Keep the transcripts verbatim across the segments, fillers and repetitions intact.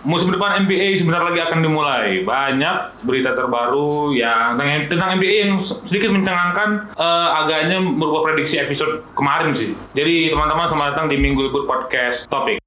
musim depan N B A sebentar lagi akan dimulai. Banyak berita terbaru yang tentang N B A yang sedikit mencengangkan, uh, agaknya merubah prediksi episode kemarin sih. Jadi teman-teman, selamat datang di Minggu Libur Podcast Topik.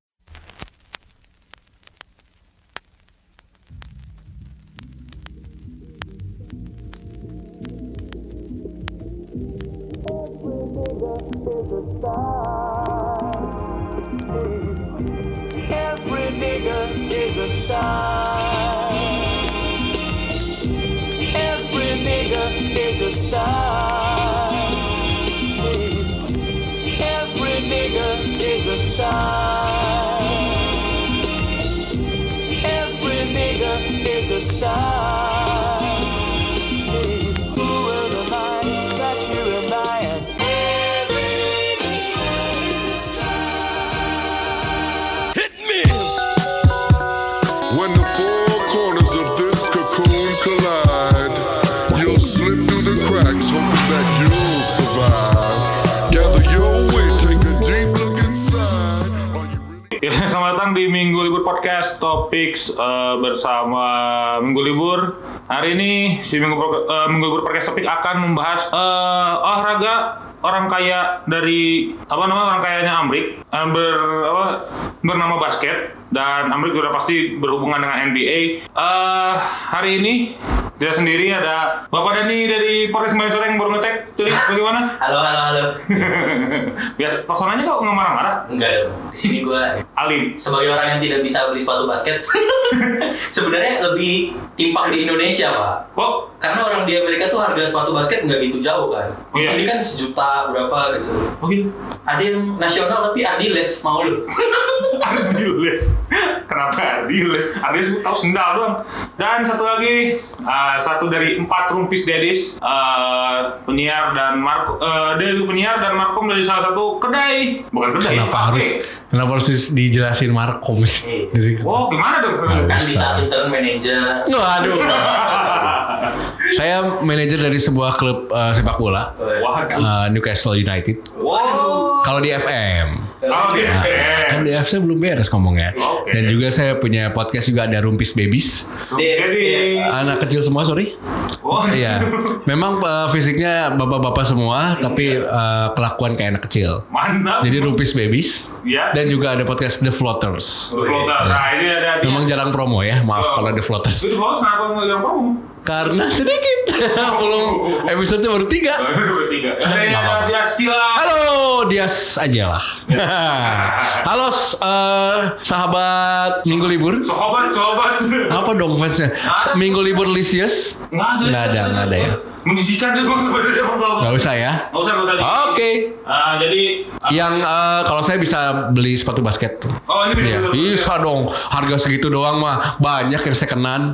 Every nigga is a star. Every nigga is a star. Every nigga is a star. Every nigga is a star. Who will remind that you remind? Every nigga is a star. Hit me! When the four corners of this cocoon collide, you'll slip through the cracks, hoping that you'll survive. Gather your weight, take a deep look inside. Are you really... Ya, selamat datang di Minggu Libur Podcast Topics uh, bersama Minggu Libur. Hari ini si Minggu, uh, Minggu Libur Podcast Topik akan membahas uh, olahraga orang kaya dari apa nama orang kayanya Amrik, uh, ber apa bernama basket, dan Amrik juga pasti berhubungan dengan N B A. Uh, hari ini tidak sendiri, ada Bapak Dani dari Polres Malaysia yang baru ngetek. Jadi bagaimana? Halo, halo, halo. Biasa personanya kok nggak marah-marah? Enggak dong. Di sini gue alim. sebagai orang yang tidak bisa beli sepatu basket, sebenarnya lebih timpang di Indonesia, Pak. Kok? Karena orang di Amerika tuh harga sepatu basket nggak gitu jauh kan. Oh, Di iya? sini kan sejuta berapa gitu. Oh gitu? Ada yang nasional tapi Adiles mau lu. Adiles. Kenapa Adiles? Adiles tahu sendal doang. Dan satu lagi, uh, satu dari empat rumpis dedis, uh, penyiar dan Marco, uh, dia juga penyiar dan Markom dari salah satu kedai, bukan kedai. Kenapa harus kenapa harus dijelasin Markom sih? Dari Oh gimana dong? Nggak Kan bisa. bisa intern manager. Waduh. Saya manajer dari sebuah klub uh, sepak bola, Waduh. uh, Newcastle United. Wow. Kalau di F M. Oh gitu. Kan di F M belum beres ngomongnya. Oke. Dan juga saya punya podcast juga, ada Rumpis Babies. Jadi, Anak kecil semua, sorry. oh Iya. Memang uh, fisiknya bapak-bapak semua, tapi uh, kelakuan kayak anak kecil. mantap. Jadi Rumpis Babies. Ya. Dan juga ada podcast The Floaters. Floater. Nah ini ada. Memang jarang promo ya, maaf kalau The Floaters. Itu Floaters kenapa nggak yang promo? Karena sedikit. Belum episode baru tiga. Bertiga. Nggak Ada apa-apa. dia Stila. Halo, Dias aja lah. Halo, uh, sahabat Minggu Libur. Sobat, sobat. Apa dong fansnya? S- Minggu Libur Lisius? Nggak ada. Nggak ada, nggak ada ya. Menjijikan deh bang sebenarnya bang. Nggak usah ya. Nggak usah, nggak usah. Oke. Ah, jadi. Yang uh, kalau saya bisa beli sepatu basket tuh. Oh ini Iya, bisa. bisa dong. Harga segitu doang mah banyak yang sekenan.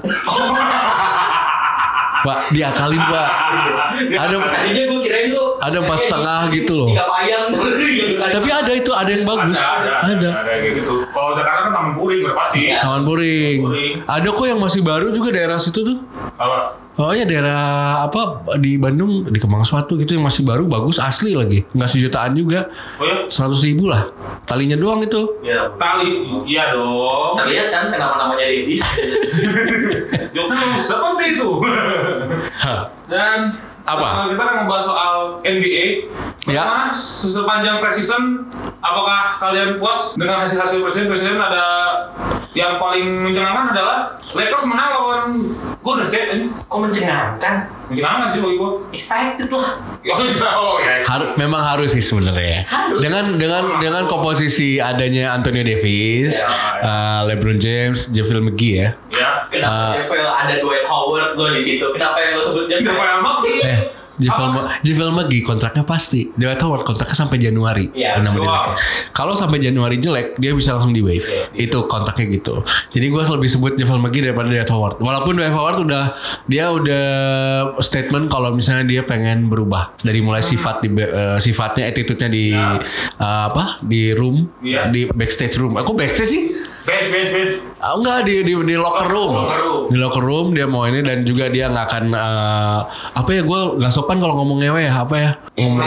Pak, diakalin Pak. Ada Tadinya gue kirain lu ada empat setengah gitu loh. Tiga payang. Tapi ada itu, ada yang bagus. Ada, ada, ada, ada kayak gitu. Kalau Jakarta kan Taman Puring udah pasti. Iya. Taman Puring. Puring. Ada kok yang masih baru juga daerah situ tuh. Apa? Oh ya, daerah apa di Bandung, di Kemang Suatu gitu yang masih baru, bagus, asli lagi. Nggak sejutaan juga. Oh ya? Seratus ribu lah. Talinya doang itu. Ya. Tali, iya dong. Terlihat kan kenapa namanya Dedis. Jokesnya memang seperti itu. Dan Apa? uh, kita akan membahas soal N B A. Ya. Bagaimana sepanjang preseason, apakah kalian puas dengan hasil-hasil preseason? Preseason ada yang paling mencengangkan adalah Lakers menang lawan Golden State ini. Kok mencengangkan? Mencengangkan sih bagi gua. Excited lah. Oh ya. Har- memang harus sih sebenarnya. Harus. Dengan dengan dengan komposisi adanya Anthony Davis, Ya, ya. uh, LeBron James, JaVale McGee ya. Ya. Kenapa Ah. Javel ada Dwight Howard lo di situ? Kenapa yang lo sebut Siapa Javel? yang mau? Eh, JaVale Ma- JaVale McGee kontraknya pasti. Dwight Howard kontraknya sampai Januari. Iya, Nama dia. wow. Kalau sampai Januari jelek, dia bisa langsung di waive. Itu kontraknya gitu. Jadi gue lebih sebut JaVale McGee daripada Dwight Howard. Walaupun Dwight Howard udah dia udah statement kalau misalnya dia pengen berubah dari mulai sifat di eh, sifatnya, attitude-nya di Ya. eh, apa? Di room, Iya. di backstage room. Aku backstage sih? Bench, bench, bench. Ah, enggak, di di di locker room. Locker room. Di locker room dia mau ini, dan juga dia nggak akan eh, apa ya, gue nggak sopan kalau ngomong ngewe ya, apa ya, ngomong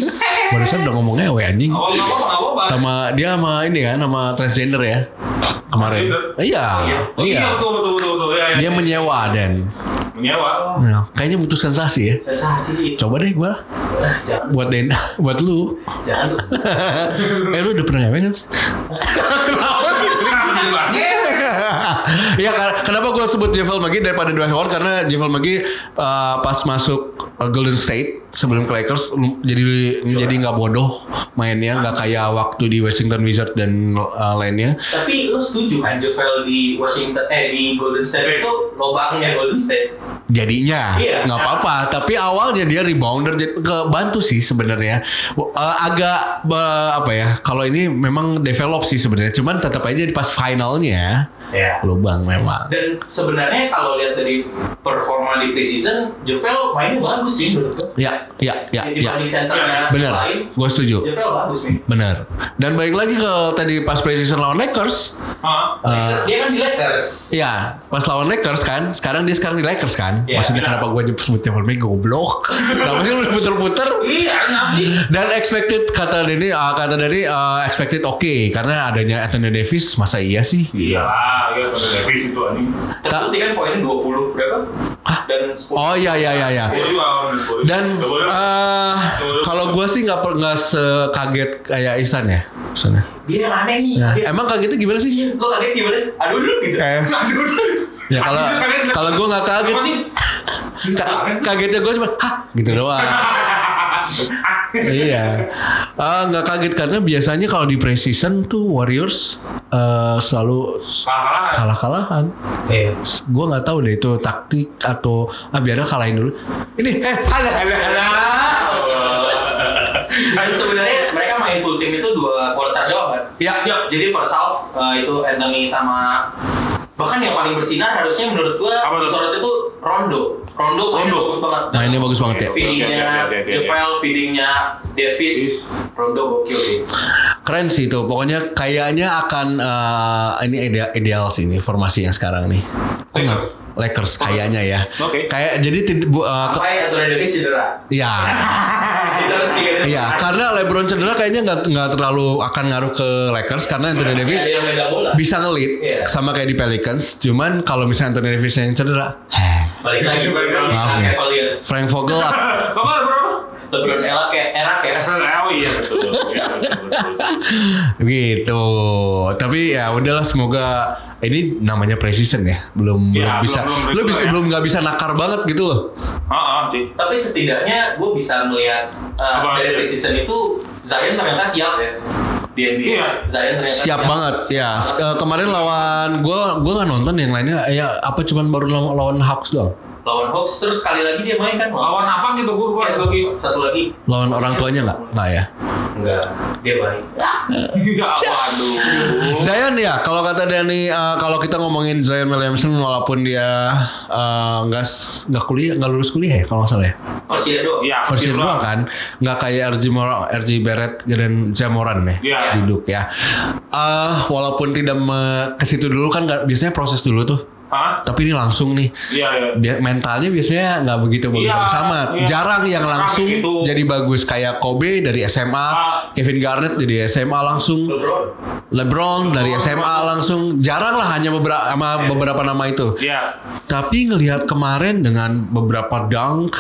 barusan udah ngomong ngewe anjing. Apa apa apa apa. Sama dia sama ini kan, sama transgender ya. kemarin. Iya, Oh, iya betul betul betul betul. Ya, ya, dia ya. menyewa dan menyewa. nah, kayaknya butuh sensasi ya. Sensasi. Coba deh gua Ah, jangan, buat Den, buat lu. jangan lu. eh lu udah pernah ngewek kan? Kenapa sih? Kenapa jadi basket? Ya kar- kenapa gue sebut Javel McGee daripada Dwight Howard, karena Javel McGee uh, pas masuk uh, Golden State sebelum ke Lakers um, jadi jadi nggak bodoh mainnya, nggak kayak waktu di Washington Wizards dan uh, lainnya. Tapi lu setuju kan Javel di Washington eh di Golden State itu lobangnya Golden State? Jadinya Iya. nggak apa-apa, tapi awalnya dia rebounder, jadi kebantu sih sebenarnya. Uh, agak uh, apa ya? Kalau ini memang develop sih sebenarnya, cuman tetap aja pas finalnya Ya. lubang memang. Dan sebenarnya kalau lihat dari performa di preseason, Javel mainnya bagus sih menurut gue. Ya, ya, ya, Di ya. banding centernya Bener, lain, gue setuju. Javel bagus nih. Bener. Dan balik lagi ke tadi pas preseason lawan Lakers. Hah? Uh, Dia kan di Lakers. ya, pas lawan Lakers kan. Sekarang dia sekarang di Lakers kan. Iya, Maksudnya iya. kenapa gue sebut Javel McGee goblok? Kenapa sih lu puter-puter? Iya, kenapa sih? Dan expected kata Denny, uh, kata dari uh, expected oke karena adanya Anthony Davis. Masa iya sih? Iya, iya Anthony Davis itu anjing. Terbukti kan poinnya dua puluh berapa? Dan sepuluh. Oh iya iya iya iya. Boleh juga orang boleh. Dan Nggak boleh. uh, kalau gue sih nggak per- nggak sekaget kayak Ihsan ya. Ihsan ya. Dia yang aneh nih. Nah, Dia, emang kagetnya gimana sih? Lo kaget gimana? Aduh dulu gitu. Eh, Aduh. ya kalau Anjing, kaget. kalau gue nggak kaget Apa sih. sih? Ka- kagetnya gue cuma hah gitu doang. Iya, Ah, nggak kaget karena biasanya kalau di preseason tuh Warriors eh, selalu Kalah-kalahan. kalah-kalahan. Iya. Gue nggak tahu deh itu taktik atau ah biarnya kalahin dulu. Ini eh halah halah halah. Dan sebenarnya mereka main full team itu dua quarter doang kan? Ya, Ya. Jadi first half eh, itu Anthony sama bahkan yang paling bersinar harusnya menurut gua Apa tuh? disorot itu Rondo. Rondo mainnya Rondo. bagus banget. Mainnya bagus banget ya. Feedingnya Oke, oke, oke, oke, Javel, feedingnya Davis, Rondo gokil sih. keren sih itu. Pokoknya kayaknya akan eh, ini ideal, ideal sih ini formasi yang sekarang nih. Oh, nggak? Lakers. Lakers kayaknya ya. Oke. Kayak jadi tid- bu- eh, ke- Sampai Anthony Davis cedera. ya. Itu harus diingat. Iya, karena LeBron cedera kayaknya nggak nggak terlalu akan ngaruh ke Lakers karena Anthony Davis Ada yang megang bola. bisa ngelit Iya. sama kayak di Pelicans. Cuman kalau misalnya Anthony Davis yang cedera, Balik lagi balik lagi Maaf ke ya. Cavaliers. Frank Vogel Kamu ada berapa? LeBron era kayak era Cavs. Oh iya betul. Iya, betul, betul. gitu. Tapi ya udahlah, semoga ini namanya preseason ya, belum Ya, belum bisa, belum- belum lo bisa regular ya. belum nggak bisa nakar banget gitu loh. Ah, ah, sih. Tapi setidaknya gue bisa melihat uh, Apa? dari preseason itu Zion ternyata siap ya di N B A. Iya. Zion ternyata Siap banget ya. Eh, kemarin lawan gue, gue nggak nonton yang lainnya. Ya apa cuman baru lawan, lawan Hawks doang. Lawan Hawks terus sekali lagi dia main kan Lawan apa gitu gue gua Ya, lagi. satu lagi Lawan orang tuanya nggak? Nggak ya. enggak dia main. Iya, waduh. Zion ya, kalau kata Dani, eh, kalau kita ngomongin Zion Williamson walaupun dia eh, nggak s- nggak kuliah, nggak lulus kuliah ya kalau nggak salah ya. First year doang. Iya, First year doang kan, nggak kayak R J Mor- R J Barrett dan Jamoran ya, Iya. di Duke ya. Eh, walaupun tidak me- ke situ dulu kan, nggak- biasanya proses dulu tuh. Hah? Tapi ini langsung nih. Iya, iya. Bia- mentalnya biasanya nggak begitu bagus Iya, sama. iya. Jarang yang Jarang langsung gitu. jadi bagus kayak Kobe dari S M A, Ah. Kevin Garnett dari S M A langsung. LeBron. LeBron dari S M A langsung, jarang lah hanya beberapa sama beberapa nama itu. Iya. Tapi ngelihat kemarin dengan beberapa dunk,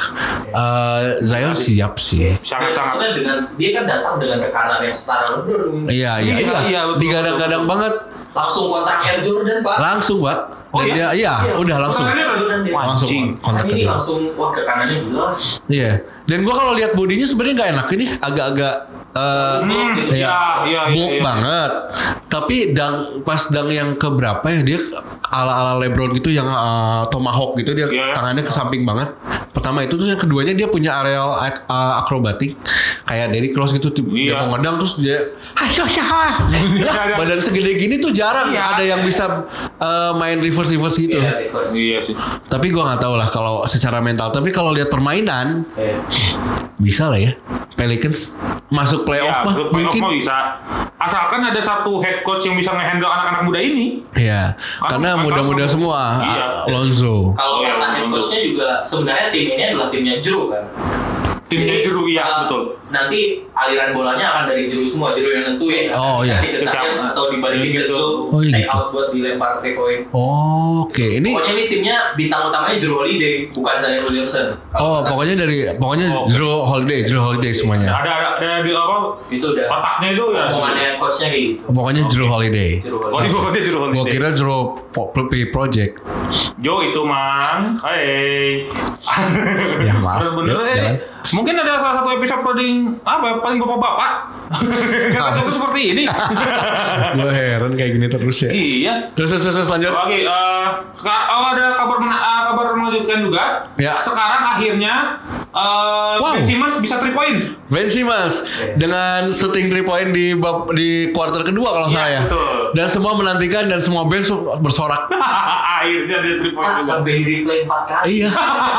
eh, Zion siap sih. Sangat-sangat. Maksudnya dengan dia kan datang dengan tekanan yang setara LeBron. Iya iya Iya, iya. iya, betul, Digadang-gadang betul, banget, Langsung kontak Air Jordan pak. langsung pak. Oh, Dan iya? dia, iya, udah langsung, Kontak Air Jordan dia. langsung Anjing. kontak Makanya ke ini dia. langsung wah ke kanannya gila. Iya. Dan gua kalau lihat bodinya sebenarnya nggak enak ini, agak-agak eh, Hmm, ya, iya, iya, iya, bulk iya. banget. Tapi dang pas dang yang keberapa ya dia ala-ala LeBron gitu yang eh, tomahawk gitu, dia Iya. tangannya ke samping banget. Pertama itu, terus yang keduanya dia punya areal ak- eh, akrobatik kayak Derrick Rose gitu, dia Iya. mau ngedang terus dia hahaha. Lah, badan segede gini tuh jarang Iya. ada yang bisa eh, main reverse reverse gitu. Iya, reverse. Iya sih. Tapi gua nggak tahu lah kalau secara mental. Tapi kalau lihat permainan Iya. bisa lah ya. Pelicans masuk playoff Ya, mah ke playoff mungkin. mah bisa. Asalkan ada satu head coach yang bisa nge-handle anak-anak muda ini. Iya, Kan- karena kan muda-muda langsung- semua. Iya. Lonzo. Kalau Iya, kata head untuk- coachnya juga sebenarnya tim ini adalah timnya Drew kan. Timnya Jadi, Drew, iya, uh, betul. Nanti aliran bolanya akan dari Jero semua, Jero yang nentuin. Oh, iya. Kasih ke Zion atau dibalikin ke Gitu. Zo, Oh, iya take gitu. out buat dilempar three point. Oh, oke. Ini Pokoknya ini timnya bintang utamanya Jero Holiday, bukan Zion Williamson. oh, pokoknya dari pokoknya Oh. Drew Holiday, Drew Holiday semuanya. Ada ada ada di apa? Itu udah Otaknya itu ya. omongannya coachnya kayak gitu. Pokoknya Drew Holiday. Jero Oh, Holiday. gue kata Jero Gua Holiday. kira Drew Po- P Project. Jo itu mang, hai. Ya, maaf. Bener Yuk, eh. jalan. Mungkin ada salah satu episode paling apa? Paling bapak-bapak. Kata itu seperti ini. Gue heran kayak gini terus ya. Iya. Terus terus terus lanjut. Oke, eh, sekarang oh, ada kabar mena- eh, kabar mengejutkan juga. Ya. Sekarang akhirnya eh Wow. Ben Simmons bisa three point. Ben Simmons dengan shooting three point di bab, di quarter kedua kalau Iya, saya. betul. Dan semua menantikan dan semua bench bersorak. Akhirnya dia three point Ah, juga. sampai di replay empat kali. Iya.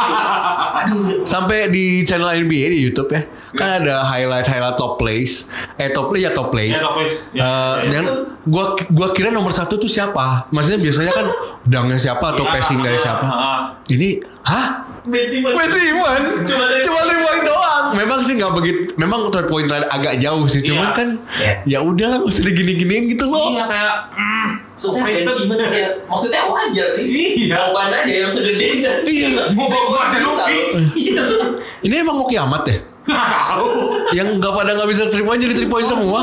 Aduh. Sampai di channel N B A di YouTube ya. Kan ada highlight-highlight top plays. Eh top play ya top plays. Ya, top plays. Ya, Eh, ya, ya. dan gua gua kira nomor satu tuh siapa? Maksudnya biasanya kan dangnya siapa atau Iya, passing dari iya, siapa? heeh. Ini, hah? Ben Simmons. Ben Simmons? Cuma dari- Cuma three point doang. Memang sih nggak begitu. Memang three point line agak jauh sih. Cuman Iya. kan Iya. ya udah lah, nggak usah digini-giniin gitu loh. Iya kayak mm, Maksudnya Ben Simmons ya, maksudnya wajar sih. Iya. Ban aja yang segede dan Iya. Mau bawa bisa Marjanovic. loh. Iya. Ini emang mau kiamat ya? Nggak tahu. Yang nggak pada nggak bisa three point jadi three point semua.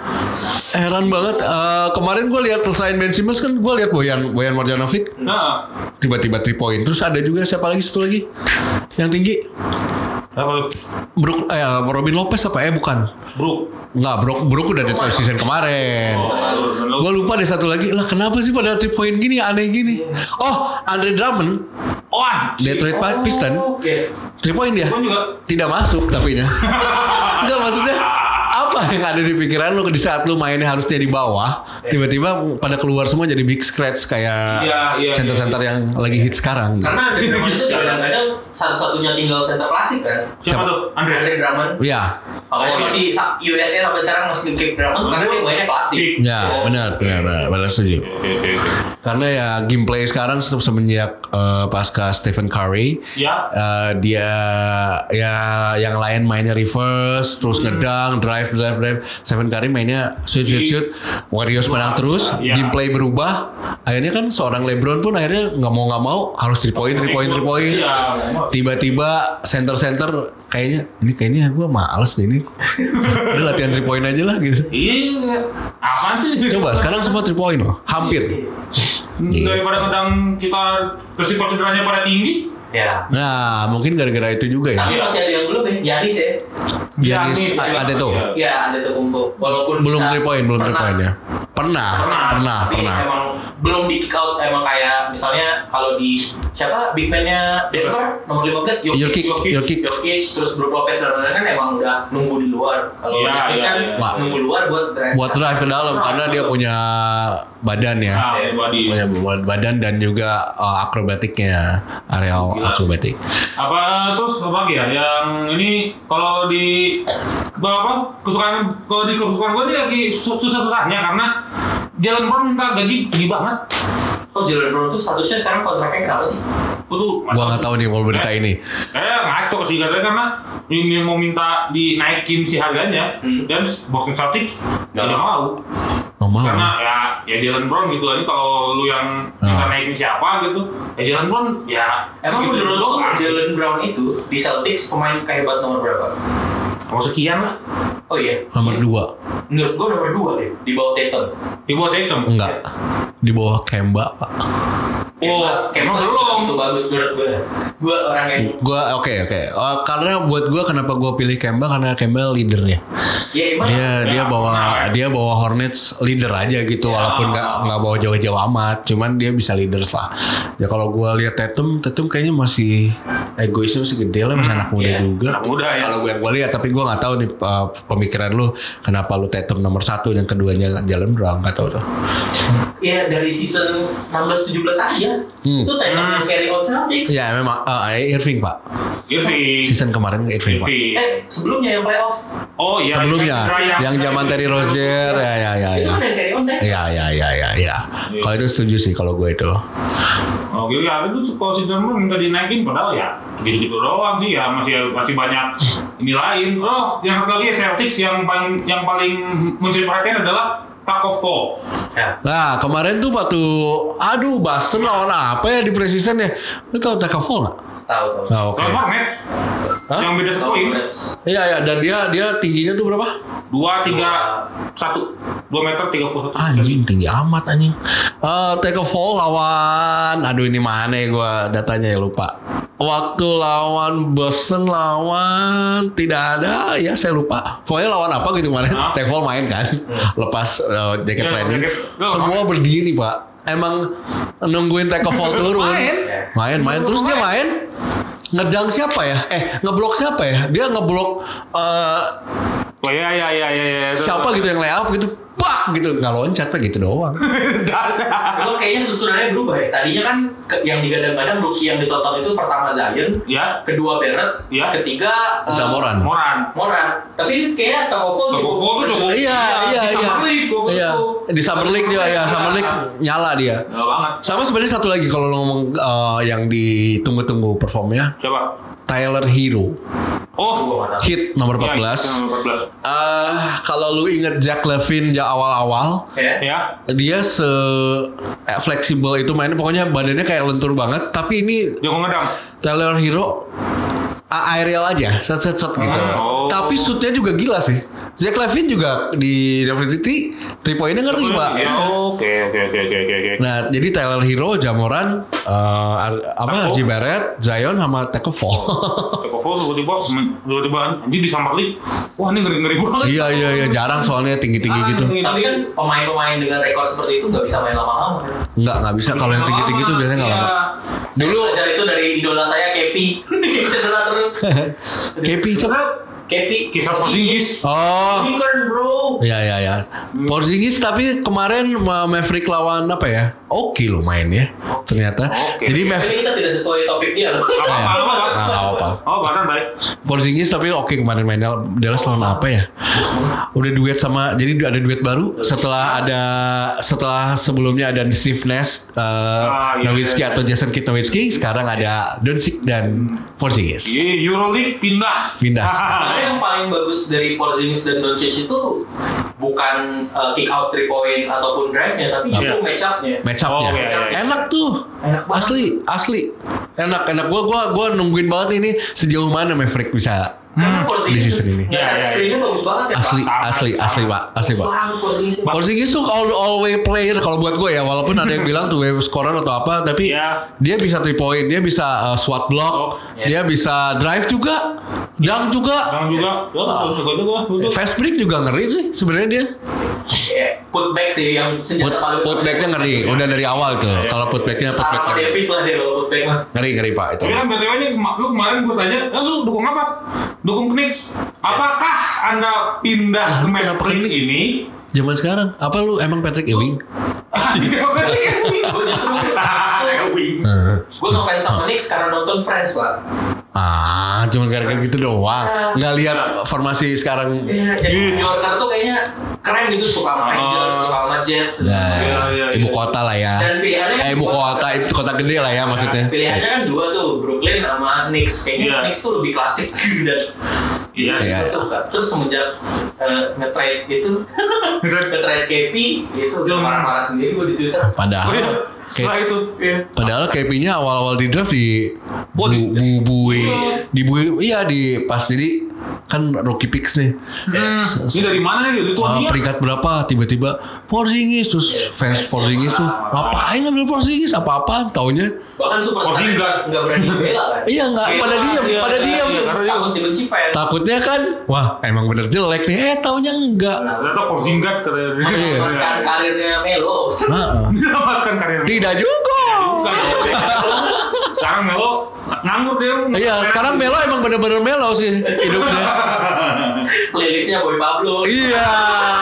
Heran banget. Eh, kemarin gue lihat selain Ben Simmons kan gue lihat Boyan Boyan Marjanovic Nah, tiba-tiba three point. Terus ada juga siapa lagi satu lagi yang tinggi? apa lu? Brook eh Robin Lopez apa eh bukan? Brook. Enggak, Brook Brook udah di season kemarin. Oh, Gue lupa deh satu lagi. Lah kenapa sih pada three point gini aneh gini? Oh, Andre Drummond Wah, Detroit Pistons Oke. three point dia. Gue juga. Tidak masuk tapinya. Enggak maksudnya apa yang ada di pikiran lu di saat lu mainnya harusnya di bawah, tiba-tiba pada keluar semua jadi big scratch kayak Iya, iya, center-center yang lagi hit sekarang. Karena Andre Drummond itu kadang-kadang satu-satunya tinggal center klasik kan. Siapa tuh? Andre. Andre Drummond. Ya, Makanya Oh, masih sa- U S A sampai sekarang masih kick Drummond karena dia mainnya klasik. ya benar, benar, benar, benar setuju. Oke, oke, oke. Karena ya gameplay sekarang semenjak eh, pasca Stephen Curry, Ya. eh, dia ya yang lain mainnya reverse, terus ngedang, drive, drive, drive. Stephen Curry mainnya shoot, shoot, shoot. Warriors menang terus, Ya. gameplay berubah. Akhirnya kan seorang LeBron pun akhirnya nggak mau nggak mau harus three point, three point, three point. Iya. Tiba-tiba center-center kayaknya ini kayaknya gue males deh ini. Udah latihan three point aja lah gitu. Iya. Apa sih? Coba sekarang semua three point loh, hampir. Iya. Daripada kadang kita resiko cederanya pada tinggi. Ya. Nah, mungkin gara-gara itu juga ya. Tapi masih ada yang belum ya, Giannis ya. Giannis ada tuh. Ya, ada tuh kumpul. Walaupun Belum bisa- three point, belum three pernah. point ya. Pernah, Pernah. pernah, Tapi pernah. emang belum di kick out, emang kayak misalnya kalau di siapa big man-nya Denver nomor lima belas Jokic, Jokic, Jokic. Jokic, terus Brook Lopez dan lain-lain kan emang udah nunggu di luar. Kalau Iya, Giannis iya, kan iya. nunggu luar buat drive. Buat drive ke dalam karena dia punya badan ya. Nah, body. Punya buat badan dan juga uh, akrobatiknya, areal Gila sih. akrobatik. Apa terus apa lagi ya yang ini kalau di apa kesukaan kalau di kesukaan gue dia lagi su- susah-susahnya karena Jalen Brown minta gaji tinggi banget. Oh, Jalen Brown tuh statusnya sekarang kontraknya kenapa sih? Itu Gua nggak tahu nih kalau berita ini. kayak ngaco sih katanya karena ini mau minta dinaikin si harganya Hmm. dan Boston Celtics Nggak tidak mau Nggak mau. karena ya ya Jalen Brown gitu aja kalau lu yang minta Ah. naikin siapa gitu ya Jalen Brown ya Emang segitu menurut lo doang. Jalen Brown itu di Celtics pemain kehebat nomor berapa? mau sekian lah Oh iya, Nomor dua. menurut gua nomor dua deh di bawah Tatum. di bawah Tatum. Enggak. Di bawah Kemba, Pak. Oh, Kemba emang belum. itu bagus menurut gua. Gua orang yang Gua oke oke. Eh, karena buat gua kenapa gua pilih Kemba karena Kemba leadernya. ya emang Dia dia Ya, bawa benar. dia bawa Hornets leader aja gitu Ya. walaupun nggak nggak bawa jauh-jauh amat. Cuman dia bisa leaders lah. Ya kalau gua lihat Tatum, Tatum kayaknya masih egoisnya masih gede lah, masih anak muda ya, juga. anak muda ya. Kalau gue yang gue lihat, tapi gue nggak tahu nih uh, pemikiran lu kenapa lu Tatum nomor satu dan keduanya Jalen Brown, nggak tahu tuh. ya dari season enam belas tujuh belas aja. Hmm. Itu Tatum yang carry out Celtics. Ya memang uh, Irving Pak. Irving. Season kemarin Irving Pak. Irving. Eh, sebelumnya yang playoff. Oh iya. Sebelumnya sebelumnya, yang zaman Terry Rozier, ya ya ya Itu ya. kan yang carry on teh. Ya ya ya ya ya. Kalau itu setuju sih kalau gue itu. Oh gitu ya, itu kalau si Dortmund minta dinaikin padahal ya gitu-gitu doang sih ya, masih masih banyak ini lain. Oh, yang satu lagi Celtics yang paling yang paling mencuri perhatian adalah Taco Fall. Ya. Nah kemarin tuh waktu, aduh Boston lawan apa ya di preseason ya? Lu tahu Taco Fall nggak? Tahu tahu. Nah, oke. Lawan Hornets. Hah? Yang beda satu poin. Iya ya, dan dia dia tingginya tuh berapa? Dua, tiga, satu, dua meter tiga puluh satu. Anjing tinggi amat anjing. Eh Taco Fall lawan, aduh ini mana ya gue datanya ya lupa. Waktu lawan Boston lawan tidak ada ya saya lupa. Pokoknya lawan apa gitu kemarin. Hah? Taco Fall main kan, lepas uh, jaket Iya, training. jaket. Loh, Semua berdiri pak. Emang nungguin Taco Fall turun. Main. main, main. Terus dia main. Ngedang siapa ya? Eh ngeblok siapa ya? Dia ngeblok uh, Oh ya ya ya ya ya. siapa gitu yang lay up gitu, pak gitu nggak loncat pak gitu doang. Dasar. Itu kayaknya susunannya berubah ya. Tadinya kan ke- yang digadang-gadang rookie yang ditonton itu pertama Zion, Ya, kedua Barrett, Ya. ketiga eh, Zamoran. Moran. Moran. Tapi ini kayaknya Taco Fall Taco Fall tuh cukup. Iya, iya, di Summer iya. League, gua Iya. betul. Di Summer League dia ya, Summer League nyala dia. Nggak banget. Sama sebenarnya satu lagi kalau lo ngomong uh, yang ditunggu-tunggu performnya, Coba. Tyler Hero, Oh, hit nomor ya, empat belas. nomor empat belas. Eh, kalau lu inget Jack Levine ja awal-awal, Ya. Ya. dia se eh, fleksibel itu mainnya, pokoknya badannya kayak lentur banget. Tapi ini Jago ngedang. Tyler Hero a- aerial aja, set set set gitu. Oh. Tapi shootnya juga gila sih. Jack Levine juga di University three pointnya ngeri pak. Ya, Oke, oke, oke, oke, oke, oke. Nah, jadi Tyler Hero, Jamoran, uh, apa Taco. R J Barrett, Zion sama Taco Fall. Taco Fall tiba-tiba tiba-tiba anjing di Summer League. Wah, ini ngeri-ngeri banget. Iya iya iya, jarang soalnya tinggi-tinggi gitu. Tapi kan pemain-pemain dengan rekor seperti itu nggak bisa main lama-lama kan? Enggak, enggak bisa kalau yang tinggi-tinggi itu biasanya enggak Iya. lama. Dulu Dulu belajar itu dari idola saya Kepi. Cedera terus. Kepi siapa? Kepi. Kisah Porzingis. Oh, Unicorn bro. iya iya iya. Porzingis tapi kemarin Ma- Maverick lawan apa ya? Oke lo main ya. Ternyata. Oke. Jadi Tapi Maverick kita tidak sesuai topik dia loh. Apa apa apa. Nah, nggak apa. Oh, bahkan baik. Porzingis tapi oke kemarin main Dallas lawan apa ya? Udah duet sama, jadi ada duet baru setelah ada setelah sebelumnya ada Steve Nash, uh, Ah, iya, Nowitzki iya. atau Jason Kidd Nowitzki, sekarang ada Doncic dan Porzingis. Iya, Euroleague pindah. Pindah. Sebenarnya yang paling bagus dari Porzingis dan Doncic itu bukan uh, kick out three point ataupun drive-nya, tapi justru Iya. match up-nya. Match up-nya. Oh, iya, iya, iya. Enak tuh. Enak banget. Asli, asli. Enak, enak. Gua gua gua nungguin banget ini sejauh mana Maverick bisa Karena di Porzingis season ini. nge-set Iya, iya, iya. screen-nya bagus banget ya, Asli, Pak. asli, asli, Pak. Asli, Pak. Bagus banget Porzingis. Porzingis tuh all, all way player kalau buat gue ya, walaupun ada yang bilang tuh wave scorer atau apa, tapi Iya. dia bisa three point, dia bisa uh, swat block, Oh, dia bisa drive juga, dunk juga, Bang juga. Ya, betul juga, betul. fast break juga ngeri sih sebenarnya dia. Ya, putback sih yang Put, senjata paling putbacknya ngeri, udah dari awal tuh. Kalau putbacknya Setara putback sama ngeri, Davis lah dia kalau putback mah. ngeri ngeri pak itu. Tapi kan B T W ini kema- lu kemarin gue tanya, eh, lu dukung apa? Dukung Knicks. Apakah Anda pindah ke Ah, kenapa Mavericks Knicks? ini? Zaman sekarang, apa lu emang Patrick Ewing? Tidak Patrick Ewing. Gue justru Ewing. Eh. gue ngefans sama Knicks karena nonton Friends lah. Ah, cuma gara-gara gitu doang. Nggak lihat formasi sekarang. Iya, jadi New Yorker tuh kayaknya keren gitu, suka sama Rangers, Oh. suka sama Jets. Nah, Iya, iya, ibu iya. kota lah ya. Dan pilihannya kan Eh, ibu dua. kota, ibu kota gede lah ya maksudnya. Pilihannya kan dua tuh, Brooklyn sama Knicks. Kayaknya Iya. Knicks tuh lebih klasik dan Iya, itu iya. gue suka. Terus semenjak uh, nge-trade itu, nge-trade K P, itu udah Hmm. marah-marah sendiri gue di Twitter. Oh iya, Padahal, setelah itu. Iya. padahal K P-nya awal-awal di draft di Oh, bu, di- bu, bui, Iya. di bui, iya di pas jadi kan rookie picks nih. Hmm, ini dari mana nih? Dari tuan Ah, dia. peringkat berapa tiba-tiba Porzingis terus Iya, fans fans Porzingis tuh ah. ngapain ngambil Porzingis apa-apa taunya Bahkan superstar Porzingis. nggak berani bela kan. iya nggak Kayak pada gitu, diam iya, pada iya, diam iya, karena dia- Takut dibenci fans. takutnya kan wah emang bener jelek nih eh taunya enggak. Nah, ternyata Porzingis katanya. Iya. Menyelamatkan karirnya Melo. Heeh. Menyelamatkan karir. Tidak juga. Bukan. Sekarang Melo nganggur dia. Iya, sekarang Melo emang bener-bener Melo sih hidupnya. Playlistnya Boy Pablo. Iya.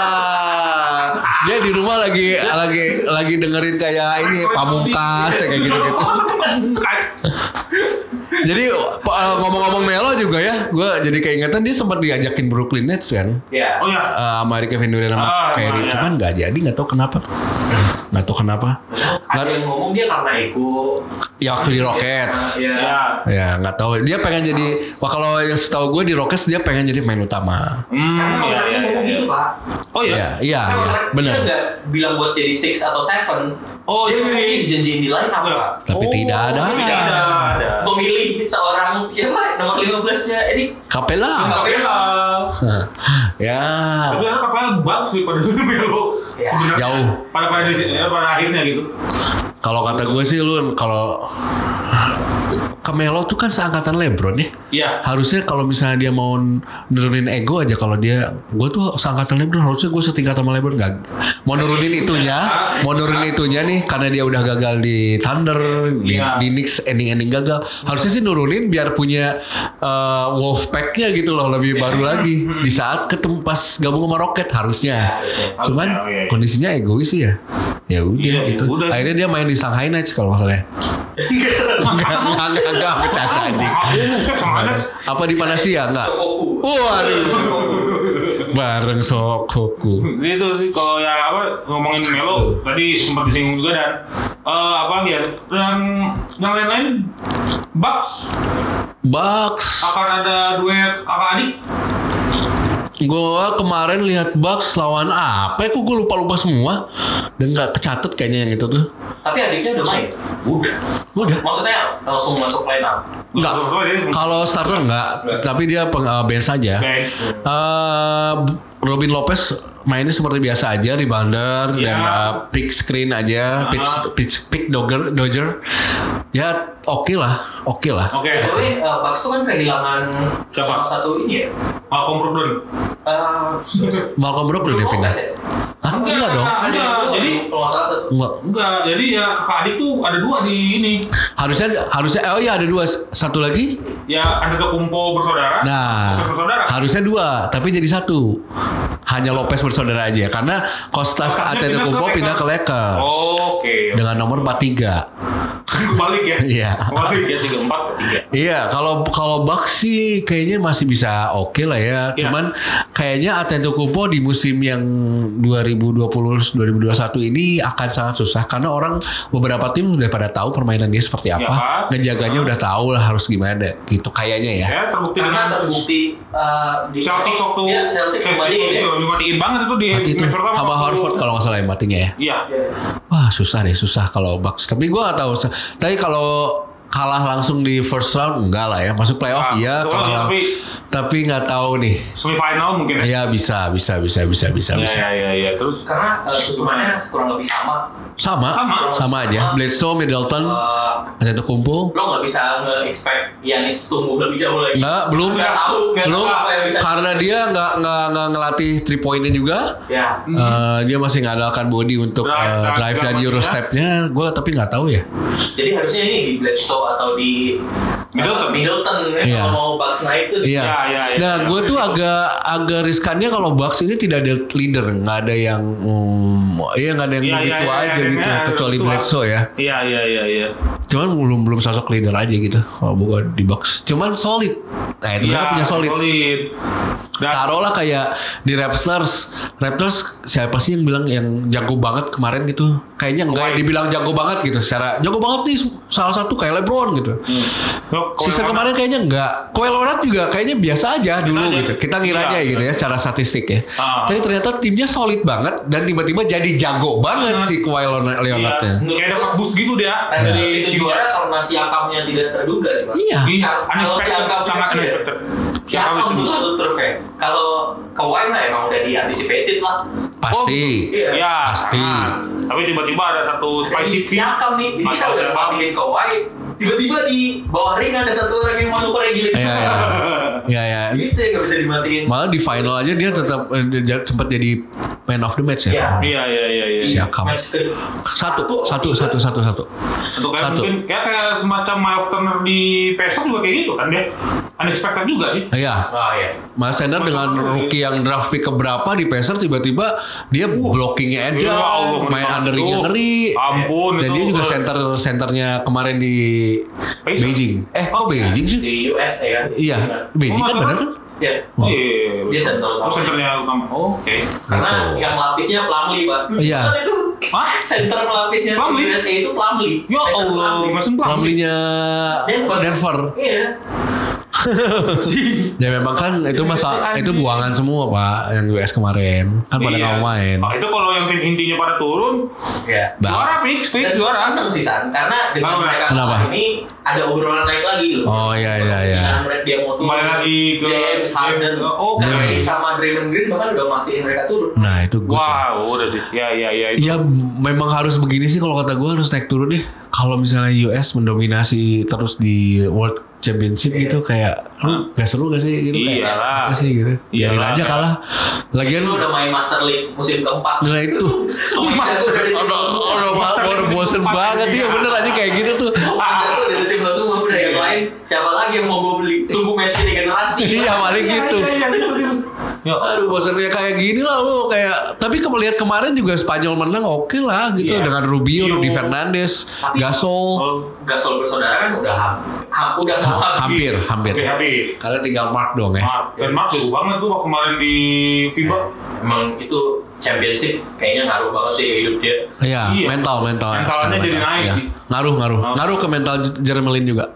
Dia di rumah lagi lagi lagi dengerin kayak ini Pamungkas ya, kayak gitu-gitu. Pamungkas. Jadi uh, ngomong-ngomong Melo juga ya, gue jadi keingetan dia sempat diajakin Brooklyn Nets kan. Ya. Oh ya. Uh, sama Kevin Durant sama Ah, Kyrie, iya. cuman nggak jadi, nggak tahu kenapa. Nggak tahu kenapa. Ada yang ngomong dia karena ego. Ya waktu di Rockets. Ya. Ya. Ya nggak tahu. Dia pengen jadi. Wah kalau yang setahu gue di Rockets dia pengen jadi main utama. Hmm, Karena iya, mereka iya, ngomong iya. gitu Pak. Oh iya. Iya, iya, Karena iya, mereka benar. nggak bilang buat jadi six atau seven. Oh, dia jadi- ngomongnya dijanjiin di line up Iya. Pak. Tapi Oh, tidak ada. Tidak ada. ada. Memilih seorang siapa nomor lima belas-nya ini Capella. Kapela. Ya. Tapi kan Kapela bagus daripada Melo. Ya. Sebenarnya. Jauh. Pada pada di ya, pada akhirnya gitu. Kalau kata gue sih lu kalau Melo tuh kan seangkatan LeBron ya. Iya. Harusnya kalau misalnya dia mau nurunin ego aja, kalau dia gue tuh seangkatan LeBron, harusnya gue setingkat sama LeBron. Gak mau nurunin itunya, mau nurunin itunya nih karena dia udah gagal di Thunder, di, Iya. di Knicks ending-ending gagal. Harusnya sih nurunin biar punya uh, Wolfpack-nya gitu loh, lebih baru lagi di saat ketemu pas gabung sama Rocket harusnya. Harusnya. Cuman Harusnya, iya, iya. kondisinya egois sih ya. Ya udah Iya, gitu. ya udah. Akhirnya dia main di Shanghai Knights kalau nggak salah. ya. Enggak, enggak, enggak, enggak, bercanda sih. Buset, sama aja. Apa di Panasia enggak? Koku. Waduh. Bareng Sokoku. Gitu sih kalau yang apa ngomongin Melo tadi sempat disinggung juga dan eh, apa lagi ya yang yang lain-lain Bucks Bucks. akan ada duet kakak adik. Gua kemarin lihat Bucks lawan apa? Kok gue lupa-lupa semua dan nggak kecatet kayaknya yang itu tuh. Tapi adiknya udah main. Udah. Udah. Maksudnya langsung masuk line up. Enggak. Betul, betul, betul. Kalau starter enggak, tapi dia peng, uh, bench saja. Bench. Eh, Robin Lopez mainnya seperti biasa aja, rebounder Ya. dan uh, pick screen aja, pick Ah. pick, pick dogger, dodger. Ya oke lah, oke lah. Oke. Tapi uh, Bucks tuh kan kehilangan Siapa? salah satu ini ya. Malcolm Brogdon. Uh, Malcolm Brogdon dia pindah. Hah? Enggak dong. Enggak, Ada jadi jadi kalau nggak salah satu. Enggak. enggak. Jadi ya kakak adik tuh ada dua di ini. Harusnya harusnya oh ya ada dua, satu lagi. Ya Antetokounmpo bersaudara. Nah, Lopez bersaudara. harusnya dua, tapi jadi satu. Hanya Lopez bersaudara aja karena Kostas Kostasnya Antetokounmpo pindah ke Lakers Oke. dengan nomor empat puluh tiga. Kebalik ya. Iya. Kebalik ya tiga empat tiga. Iya, kalau kalau Bucks sih kayaknya masih bisa oke lah ya. Iya. Cuman kayaknya Antetokounmpo di musim yang dua ribu dua puluh dua ribu dua puluh satu ini akan sangat susah karena orang beberapa tim udah pada tahu permainan dia seperti apa. Iya, Pak. Ngejaganya Iya. udah tahu lah harus gimana gitu kayaknya ya. Ya terbukti Karena dengan terbukti uh, di Celtics waktu ya, Celtics sama dia ya. dimatiin banget itu di Waktu itu match pertama sama waktu- Horford kalau nggak salah yang matinya ya. Iya. Wah susah deh susah kalau Bucks. Tapi gue nggak tahu. Tapi kalau kalah langsung di first round enggak lah ya. Masuk playoff Ah, iya. betul, Kalah lang- tapi tapi nggak tahu nih. semifinal mungkin ya. Ya bisa bisa bisa bisa bisa Iya bisa. iya iya iya. Terus Karena uh, susunannya kurang lebih sama. Sama Sama. sama aja. Bledsoe, Middleton, Uh, Antetokounmpo. lo nggak bisa nge-expect Giannis tumbuh lebih jauh lagi. Nggak belum Nggak tahu, nggak belum tahu apa yang bisa. karena dia nggak nggak nggak ngelatih three pointnya juga. Ya. Eh, dia masih ngandalkan body untuk Drive, eh, drive, drive dan segala euro macamnya. stepnya. Gue tapi nggak tahu ya. Jadi harusnya ini di Bledsoe atau di Middleton. uh, Middleton ya, Iya. kalau mau Bucks naik tuh. Iya. Ya, ya, ya, Nah, ya. gue tuh agak agak riskannya kalau Bucks ini tidak ada leader, nggak ada yang, hmm, iya nggak ada yang Iya, begitu iya, iya, aja iya, gitu, iya, kecuali betul. Bledsoe ya. Iya iya iya iya. Cuman belum belum sosok leader aja gitu kalau buat di Bucks. Cuman solid. Nah itu mereka Iya, punya solid. solid. Dan Taruhlah kayak di Raptors. Raptors siapa sih yang bilang yang jago banget kemarin gitu? Kayaknya enggak Kawhi. dibilang jago banget gitu. Secara jago banget nih salah satu kayak LeBron gitu. Loh, kalau Season yang kemarin kayaknya enggak. Kawhi Leonard juga kayaknya biasa aja dulu aja. gitu. Kita ngiranya Iya, gitu ya iya. secara statistik ya. Ah. Tapi ternyata timnya solid banget dan tiba-tiba jadi jago banget Banget. si Kawhi Leonard- Iya, Leonardnya. kayak dapat boost gitu dia. Raptors Dari itu juara karena si Akamnya tidak terduga sih, Pak. Iya. Iya, Kalau unexpected, Siakam sangat iya. unexpected. Si Siapa Akam bisa tuh satu turfnya. Kalau Kawhi mah emang udah di-anticipated lah. Pasti. Iya. Ya, Pasti. nah, tapi tiba-tiba ada satu spicy Si Akam nih, jadi kita Atau udah siapa? matiin Kawhi. Tiba-tiba di bawah ring ada satu orang yang manuvernya gila. Iya, iya. Iya, iya. Gitu ya nggak bisa dimatiin. Malah di final aja dia tetap eh, dia sempat jadi man of the match ya. Iya. Iya iya iya iya. Siakam. Match ke- Satu, satu, satu, satu, satu. Untuk kayak Satu. mungkin kayak, kayak semacam Miles Turner di Pacers juga kayak gitu kan dia. Unexpected juga sih. Iya. Ah ya. Miles Turner dengan rookie yang draft pick keberapa di Pacers tiba-tiba dia blockingnya Ya Edan, Allah, main ngeri undernya banget. ngeri. Ampun, Dan itu, dia juga eh. center senternya kemarin di Pacers? Beijing. Eh, kok Beijing sih? Di U S A kan? Iya, Beijing Oh, kan nggak benar tahu. kan? Ya. Oh iya, iya, iya. Dia center Oh, senternya utama. Oh, oke. Karena Gitu. yang lapisnya Plumlee, Pak. Iya. Kan itu Hah? center pelapisnya Plumlee? U S A itu Plumlee. Ya Mason Allah, Plumlee. Mason Plumlee. Plumlee-nya Denver. Denver. Iya. Ya memang kan itu masa itu buangan semua Pak yang U S kemarin kan pada Iya. nggak mau main. Oh, itu kalau yang tim intinya pada turun, Iya. Bah. juara fix, fix Dan juara. seneng sih San, karena dengan Kenapa? mereka Kenapa? kalah ini ada obrolan naik lagi loh. Oh iya iya iya. Dengan mereka dia mau turun. Kembali lagi ke James Harden. Oh, oke. Kyrie sama Draymond Green bahkan udah mastiin mereka turun. Nah itu gue. Wow, udah sih. Ya, ya, ya. Itu. Ya memang harus begini sih kalau kata gue harus naik turun deh. Kalau misalnya U S mendominasi terus di World Championship gitu kayak lu gak seru gak sih gitu kayak Iyalah. apa sih gitu. Biarin Iyalah. aja kalah. Lagian Lu udah main Master League musim keempat. nah itu Master udah di tim Udah semua. udah Master udah League bosen empat banget ini. ya bener aja kayak gitu tuh. Master tuh udah di tim lo semua udah yang lain. Siapa lagi yang mau gue beli? Tunggu Messi regenerasi. Iya paling gitu. Iya, gitu, gitu. Ya, Aduh bosannya kayak gini lah lu kayak tapi kalau lihat kemarin juga Spanyol menang oke lah gitu Iya. dengan Rubio, Rubio. Rudy Fernandes, Tapi- Gasol. Oh, Gasol bersaudara kan udah ham, ham udah mau Hampir, hampir. oke, habis. Karena tinggal Mark dong ya. Mark, dan Mark jago banget tuh waktu kemarin di FIBA. Emang itu championship kayaknya ngaruh banget sih hidup dia. Iya, Iya. mental, mental. Mentalnya sekarang jadi mental. naik Iya. sih. Ngaruh, ngaruh. Ngaruh. Ngaruh ke mental Jeremy Lin juga.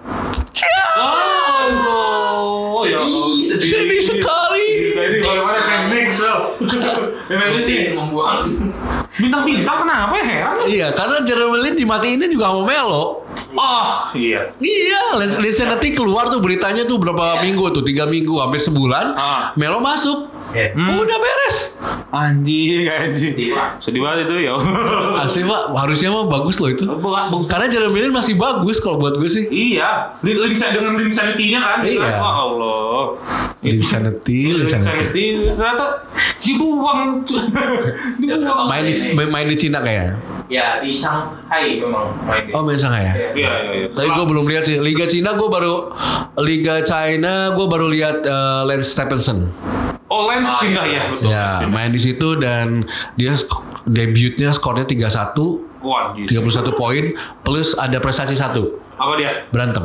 Oh, ya Allah. Sedih, sedih. Sedih sekali. Ini bagaimana teknik tuh? Memang Tim membuang. bintang-bintang kenapa ya heran? Iya, karena Jeremy Lin dimatiinnya juga sama Melo. Oh, iya. Iya, Lance Lance nanti keluar tuh beritanya tuh berapa minggu tuh, tiga minggu, hampir sebulan. Ah. Melo masuk. Ya. Hmm. Udah beres. Anjing, anjing. Sedih, Pak. Sedih banget itu ya. Asli pak, harusnya mah bagus loh itu. Bagus, bagus. Karena Jeremy Lin masih bagus kalau buat gue sih. Iya, lin lin dengan lin sanity-nya kan. Iya. Oh Allah. Insanity, Lin Insanity. sanity ternyata dibuang. dibuang. Main di main di Cina kayaknya. Ya di Shanghai memang main dia. Oh main Shanghai ya. Iya. Iya, iya, iya. Tapi gue belum lihat sih. Liga Cina gue baru Liga China gue baru lihat eh, Lance Stephenson. Oh, Lens Ah, pindah iya. ya, betul. Ya main di situ dan dia sk- debutnya skornya tiga puluh satu, Wah, gitu. tiga puluh satu poin plus ada prestasi satu Apa dia? berantem.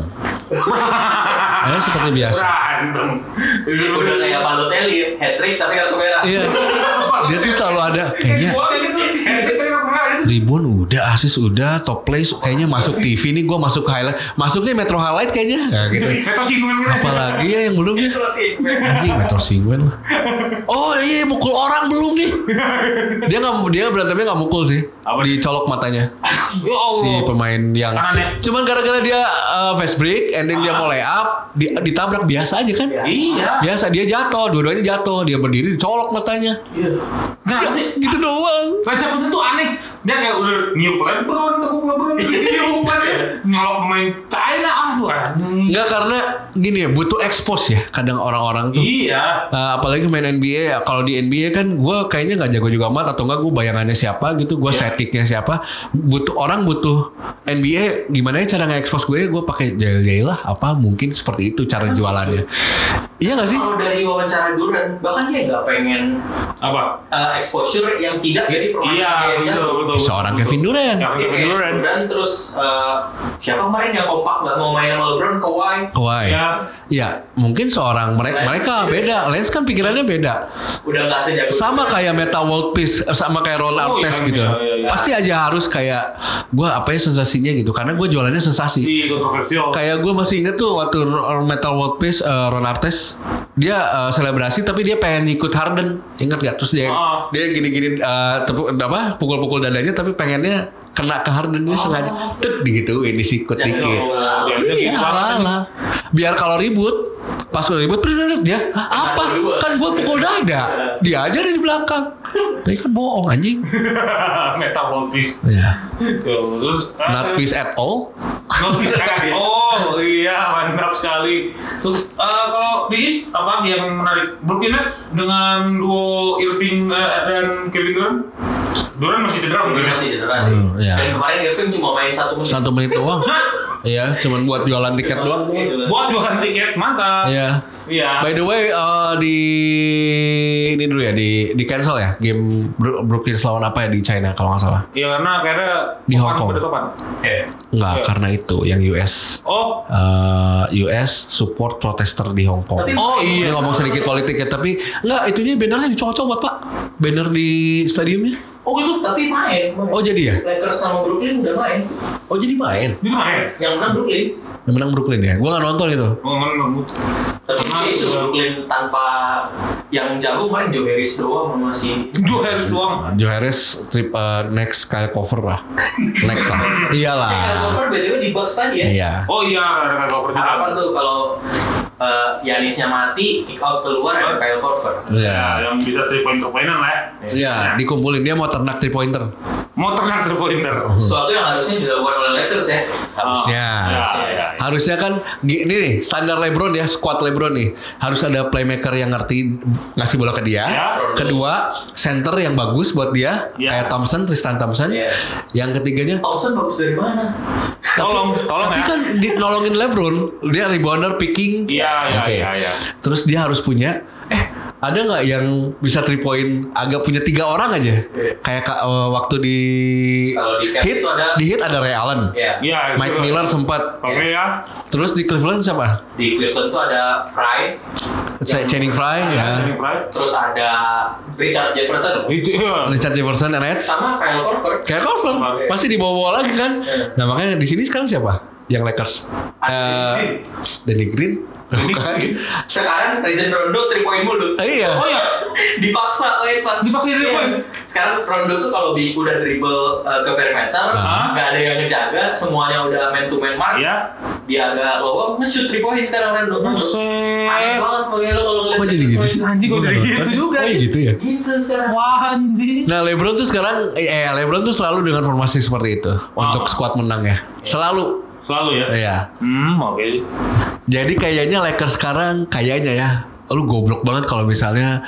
Ya seperti biasa. Berantem. Udah kayak Balotelli, hat trick tapi kartu merah. Iya. Dia tuh selalu ada kayaknya Gua kayak gitu. Kayak gitu. ribon udah, asis udah, top play kayaknya masuk T V nih gue masuk highlight, masuknya Metro Highlight kayaknya. Nah, gitu. Metro Singgungan gitu. Apalagi ya yang belum ya? Anjing Metro Singwen. Oh iya mukul orang belum nih. Dia nggak dia berantemnya nggak mukul sih. Apa? Dicolok matanya. Ya Allah. Si pemain yang Kanannya. cuman gara-gara dia uh, fast break and then dia mau lay up di, ditabrak biasa aja kan. Iya. Biasa dia jatuh, dua-duanya jatuh, dia berdiri dicolok matanya. Nggak sih. Gitu doang. Lens Stephenson tuh aneh. Dia kayak udah niup LeBron, tekuk LeBron, niup aja. Nyolok pemain China, aduh aneh. Enggak karena gini ya, butuh expose ya kadang orang-orang tuh. Iya. Uh, apalagi main N B A, kalau di N B A kan gue kayaknya nggak jago juga amat atau enggak gue bayangannya siapa gitu, gue Iya. sidekicknya siapa, butuh orang butuh N B A gimana ya cara nge-expose gue, gue pakai jail-jail lah, apa mungkin seperti itu cara jualannya. Iya nggak sih? Kalau dari wawancara Durant, bahkan dia nggak pengen Apa? uh, exposure yang tidak dari permainan Iya, dia yang betul, jago. betul. Seorang betul, Kevin betul. Durant. Ya, Iya, Kevin kayak Durant. Dan terus uh, siapa kemarin yang kompak nggak mau main sama LeBron, Kawhi. Kawhi. Ya. Ya mungkin seorang mereka Lance. mereka beda. Lance kan pikirannya beda. Udah nggak sejago. Sama kayak Meta World Peace, sama kayak Ron Oh, Artest iya, gitu. iya, iya, iya. Pasti aja harus kayak gue apa ya sensasinya gitu. Karena gue jualannya sensasi. Iya, kontroversial. Kayak gue masih inget tuh waktu Metal World Peace uh, Ron Artest dia uh, selebrasi tapi dia pengen ikut Harden, ingat gak? Terus dia Oh. dia gini-gini uh, tepuk apa pukul-pukul dadanya tapi pengennya kena ke Harden dia sengaja tek digituin disikut Jangan dikit. ngomong. Ya, Iya, gitu banget. ala-ala. Biar kalau ribut pas udah ribut bener dia "Hah, apa kan gue pukul dada dia aja ada di belakang tapi kan bohong anjing. Metaboltis. Ya, Terus eh, not peace at all. Not peace at all. Iya, mantap sekali. Terus eh, kalau di East apa yang menarik? Brooklyn Nets dengan duo Irving eh, dan Kevin Durant. Durant masih cedera mungkin. Masih cedera sih. Hmm, iya. Dan kemarin Irving cuma main satu menit. Satu menit doang. Hah? Iya, cuman buat jualan tiket doang. Buat jualan tiket, mantap. Iya. Iya. By the way, uh, di ini dulu ya, di di cancel ya game Bro- Brooklyn lawan apa ya di China kalau nggak salah. Iya karena akhirnya Di Hong Kong. Topan. Iya. Enggak, Iya. karena itu yang U S. Oh, Uh, U S support protester di Hong Kong. Tapi- oh Ini iya. ngomong sedikit politik ya, tapi enggak, itunya bannernya dicopot-copot Pak. Banner di stadiumnya. Oh gitu. Tapi main. Oh jadi ya? Lakers sama Brooklyn udah main. Oh jadi main. Di mana? Yang menang Brooklyn. Yang menang Brooklyn ya? Gua nggak nonton itu. Oh, mana? Tapi Karena- itu Brooklyn tanpa yang jago main Joe Harris doang masih. Joe Harris doang. Joe Harris trip uh, next kayak cover lah. Next lah. Iyalah. Kyle Korver B T W di Bucks tadi ya. Iya. Oh iya, ada cover juga. Harapan tuh kalau uh, Yanisnya mati, kick out keluar ada Kyle Korver. Ya, Iya. yang bisa three point permainan lah. ya. Iya, dikumpulin dia mau ternak three pointer. Mau ternak three pointer. Sesuatu yang harusnya dilakukan oleh Lakers ya. Harusnya. Ya, ya, ya. Harusnya kan gini nih, standar LeBron ya, squad LeBron nih. Harus ada playmaker yang ngerti ngasih bola ke dia. Ya. Kedua, center yang bagus buat dia, Ya. kayak Thompson, Tristan Thompson. Iya. Yang ketiganya, Thompson bagus dari mana? Tolong, tolong tapi ya. kan di, nolongin LeBron, dia rebounder, picking. Iya, iya, Oke. iya, iya. Terus dia harus punya, eh ada nggak yang bisa three point agak punya tiga orang aja? Kayak ka- uh, waktu di Kalau di Cavs hit, itu ada- di hit ada Ray Allen, Iya. Iya, itu Mike kan. Miller sempat. Oke ya. Terus di Cleveland siapa? Di Cleveland tuh ada Fry, Ch- Channing Frye ya, Ini Fry. terus ada Richard Jefferson, Itu iya. Richard Jefferson, Nets, sama Kyle Korver. kayak Cover, Oke. pasti dibawa-bawa lagi kan. Iya. Nah makanya di sini sekarang siapa? Yang Lakers? Eh, Danny Green. Bukan. Sekarang Rajon Rondo three point mulu. Eh, iya. Oh iya. Dipaksa main Pak. Dipaksa three point? Iya. Sekarang Rondo tuh kalau di udah dribble uh, ke perimeter, Ah. nggak ada yang ngejaga, semuanya udah man to man mark. Iya. Dia agak lowong, nge-shoot three point sekarang Rondo. Aneh Buset. banget pokoknya lo kalau ngeliat Kok jadi gitu sih? Anjing, kok jadi gitu juga Oh sih? gitu ya. Gitu sekarang. Wah anjing. Nah LeBron tuh sekarang, eh LeBron tuh selalu dengan formasi seperti itu untuk squad menang ya. Selalu. Selalu ya. Iya. Hmm, oke. Jadi kayaknya Lakers sekarang kayaknya ya, lu goblok banget kalau misalnya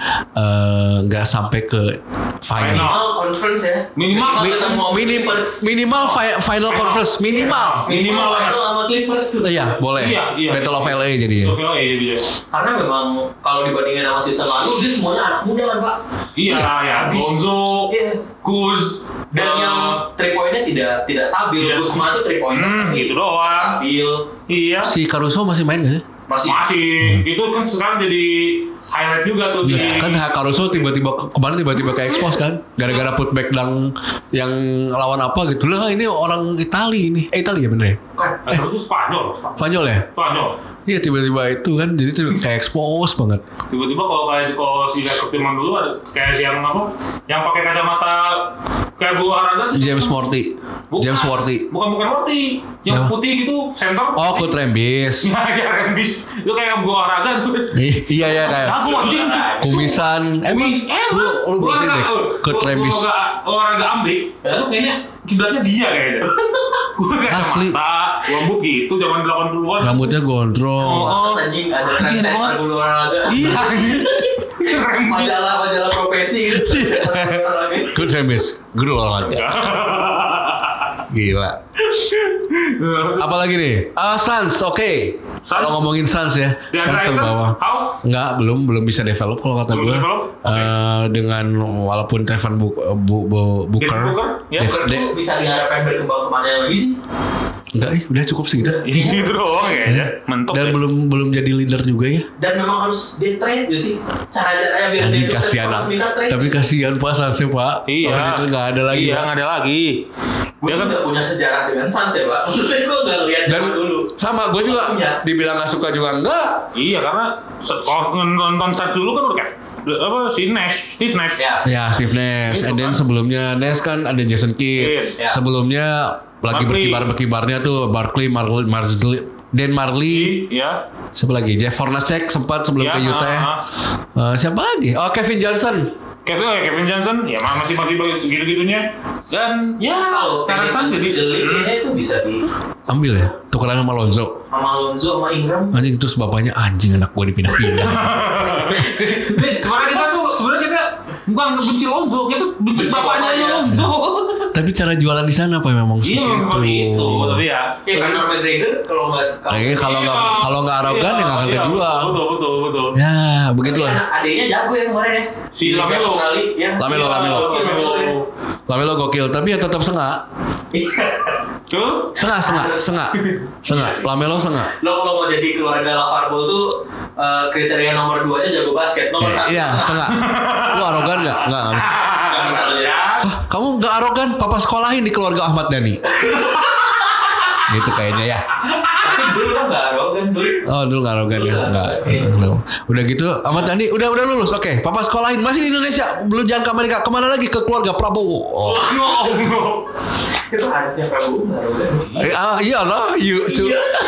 eh, nggak sampai ke final. Minimal conference ya. Minimal- ketemu sama Minim, Clippers. minimal fi- final conference minimal. Minimal Minimal ya. final sama Clippers tuh. Iya boleh. Iya, iya. Battle of L A jadi ya. Oke, oh iya iya. Karena memang kalau dibandingin sama season lalu dia semuanya anak muda kan Pak. Iya, ya. Habis. Lonzo, Iya. Kuz, Dan eh, yang three pointnya tidak tidak stabil. Tidak. Kuzma tuh three point Hmm, gitu doang. stabil. Iya. Si Caruso masih main nggak sih? Masih. Masih. Itu kan sekarang jadi highlight juga tuh Iya, di kan Caruso tiba-tiba ke- kemarin tiba-tiba ke expose kan, gara-gara putback dang yang lawan apa gitu lah. Ini orang Itali ini, eh Itali ya bener ya? Bukan. Eh, terus itu Spanyol. Spanyol ya? Spanyol. Iya tiba-tiba itu kan, jadi tuh kayak expose banget. Tiba-tiba kalau kayak kalau si Lakers zaman dulu ada kayak si yang apa? Yang pakai kacamata kayak guru olahraga tuh. James Worthy, Bukan. James Worthy. Bukan bukan Worthy. Yang Apa? putih gitu, center. Oh, Kurt Rambis. Ya, ya Rembis. Itu kayak guru olahraga tuh. Ih, iya ya kayak Aku anjing. kumisan. Emang Kumis. Eh, lu lu gua bersihin deh. olahraga- Kurt gua- Rambis. gua olahraga- olahraga Amrik. Itu kayaknya kiblatnya dia kayaknya. Gue Asli. kacamata, rambut gitu zaman delapan puluhan. Rambutnya gondrong. Oh. Anjing ada Anjing, tren apa? berbulu olahraga. Iya. Rembis. Majalah-majalah profesi gitu. Kurt Rambis, guru olahraga. Gila. Apalagi nih? Ah, Suns, oke. Suns? Kalau ngomongin Suns ya, Di Suns Brighton, terbawah. how? Enggak, belum belum bisa develop kalau kata Belum gue. develop? Oke. Dengan walaupun Trevor Bu, Bu, Bu, Booker, Devin Booker? Ya, Dev- Booker De- tuh bisa diharapkan berkembang kemana lagi sih? enggak, eh, udah cukup segitu. Ini gitu doang kayaknya. Mentok Dan ya. belum belum jadi leader juga ya. Dan memang harus di trade gak sih? Cara-caranya biar Anjing dia kasihan, harus minta trade. tapi kasihan Pak Sunsnya Pak. Iya. Kalau itu nggak ada lagi. Iya, Pak. nggak ada lagi. Gue Dia sih kan gak punya sejarah dengan Suns ya Pak. Maksudnya gue gak lihat Dan zaman dulu. sama gue juga Punya. dibilang nggak suka juga enggak. iya karena se- kalau nonton Suns dulu kan udah kayak apa si Nash, Steve Nash. Ya. Ya, Steve Nash. Itu And then kan. sebelumnya Nash kan ada Jason Kidd. Kidd, ya. Sebelumnya lagi Barkley. berkibar-berkibarnya tuh Barkley, Marley, Marley, Dan Marley. Iya. Siapa lagi? Jeff Hornacek sempat sebelum Ya, ke Utah. ah, Eh, siapa lagi? Oh, Kevin Johnson. Kevin, oh ya Kevin Johnson, ya masih masih bagus segitu-gitunya. Dan ya Kalau sekarang Suns jadi jeli kayaknya itu bisa di Ambil ya. Tukeran sama Lonzo. sama Lonzo sama Ingram. Anjing terus bapaknya anjing anak gue dipindah-pindah. Nih, sebenarnya kita tuh sebenarnya kita Bukan benci Lonzo, kita benci, Benci bapaknya bapaknya. Lonzo. Tapi cara jualan di sana apa memang Iya, memang seperti itu, tapi ya. Kayak Conor McGregor kalau nggak Kayaknya kalau nggak Iya. kalau nggak arogan ya nggak akan Iya, kejual. Betul, betul, betul. Ya begitulah. adiknya jago ya kemarin ya. Si Lamelo. Australia, ya. Lamelo, Iya, Lamelo. Lamelo. Lamelo gokil, tapi ya tetap sengak. Tuh. Sengak, sengak, sengak, sengak. Lamelo sengak. Lo kalau mau jadi keluarga Lavar Ball tuh eh, kriteria nomor dua aja jago basket. Nomor satu. Iya, sengak. Lu arogan nggak? Nggak. nggak bisa. Nggak bisa lo jadi. Ah, kamu nggak arogan? Papa sekolahin di keluarga Ahmad Dhani. Gitu kayaknya ya. Tapi dulu kan nggak arogan tuh. Oh dulu nggak arogan ya, nggak. Belum. Udah gitu, Ahmad Dhani udah udah lulus, oke. Papa sekolahin masih di Indonesia, belum jangan ke Amerika. Kemana lagi? Ke keluarga Prabowo. Oh. Ya Allah. Itu anaknya Prabowo nggak arogan. Eh, ah iya lah, you too.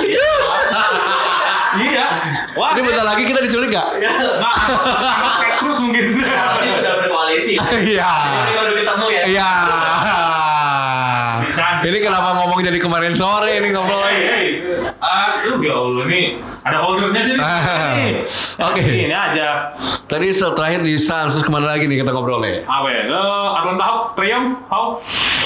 Iya. Wah, Ini bentar lagi kita diculik nggak? Nah, kayak terus mungkin. Sekarang sih sudah berkoalisi. Iya. Ini baru ketemu ya. Iya. Bisa. Ini kenapa ngomong jadi kemarin sore ini ngobrol? Hey, hey. Aduh ya Allah, nih ada holdernya sih nih. Nih. Oke. Ini aja. Tadi setelah terakhir di Suns, terus kemana lagi nih kita ngobrolnya? Apa ya? Eh, Atlanta Hawks, Trae Young, Hawks.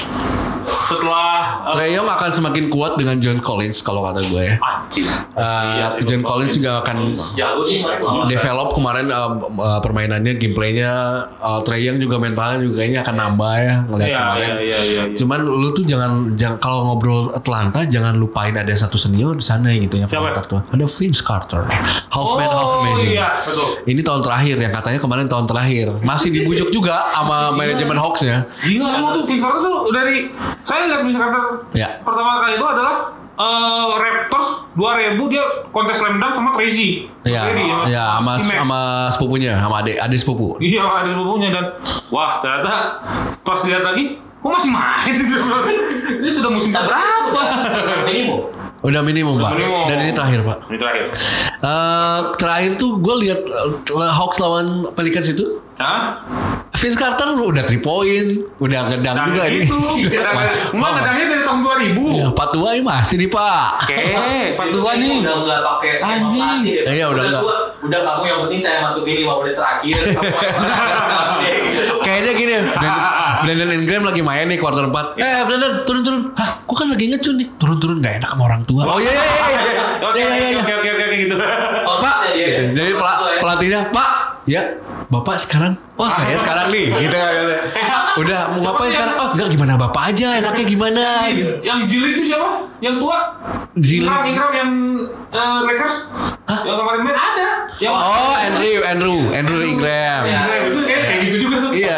Setelah eh, Trae Young akan semakin kuat dengan John Collins kalau kata gue ya. anjing. Uh, Iya sih, John Bang. Collins juga akan Jago sih kemarin lawan. develop kemarin uh, uh, permainannya, gameplaynya. Uh, Trae Young juga mentalnya juga kayaknya akan nambah ya ngeliat Iya, kemarin. iya, iya, iya, iya. Cuman lu tuh jangan, jangan kalau ngobrol Atlanta jangan lupain ada satu senior di sana gitu yang Siapa? Carter tuh. Ada Vince Carter, half man half Oh amazing. iya, betul. Ini tahun terakhir yang katanya kemarin tahun terakhir masih dibujuk juga sama manajemen Hawks-nya. Gila emang tuh Vince Carter tuh dari saya lihat Vince Carter Ya. pertama kali itu adalah eh, Raptors dua ribu dia kontes slam dunk sama Tracy. Iya, Tracy, ya sama T-Mac. sama sepupunya, sama adik adik sepupu. Iya ada sepupunya dan wah ternyata pas dilihat lagi kok masih main gitu. Ini sudah musim berapa? Minimum. Udah minimum pak. minimum. Dan ini terakhir pak. Ini terakhir. Eh, terakhir tuh gue lihat uh, Hawks lawan Pelicans itu. Hah? Vince Carter udah three point, udah ngedang Nah, juga ini. itu. Enggak ngedangnya dari tahun dua ribu. Ya, Pak Tua ini masih nih pak. Oke, Pak Tua Itu sih nih. udah nggak pakai skema Anjing. plastik ya. Iya, udah nggak. gua- udah kamu yang penting saya masukin lima menit terakhir. Kamu kamu deh, gitu. Kayaknya gini, Brandon, Brandon Ingram lagi main nih quarter empat. Eh Brandon turun-turun. Hah, gua kan lagi ngecun nih. Turun-turun nggak enak sama orang tua. Oh iya iya iya. Oke, Iya, iya, iya. oke, oke, oke, oke, gitu. Oh, Pak, maksudnya dia, gitu. ya. Jadi pela- Maksud ya. pelatihnya, Pak, ya, Bapak sekarang, oh saya sekarang nih, gitu kan. Udah, mau ngapain yang- sekarang? Oh enggak, gimana Bapak aja, enaknya gimana? Gitu. Yang jilid itu siapa? Yang tua? Jilid. Ingram, Ingram yang eh, Lakers? Hah? Yang kemarin main ada. Yang Oh, Andrew, Andrew, Andrew Ingram. Iya. Ingram itu kayak kayak gitu juga tuh. Iya.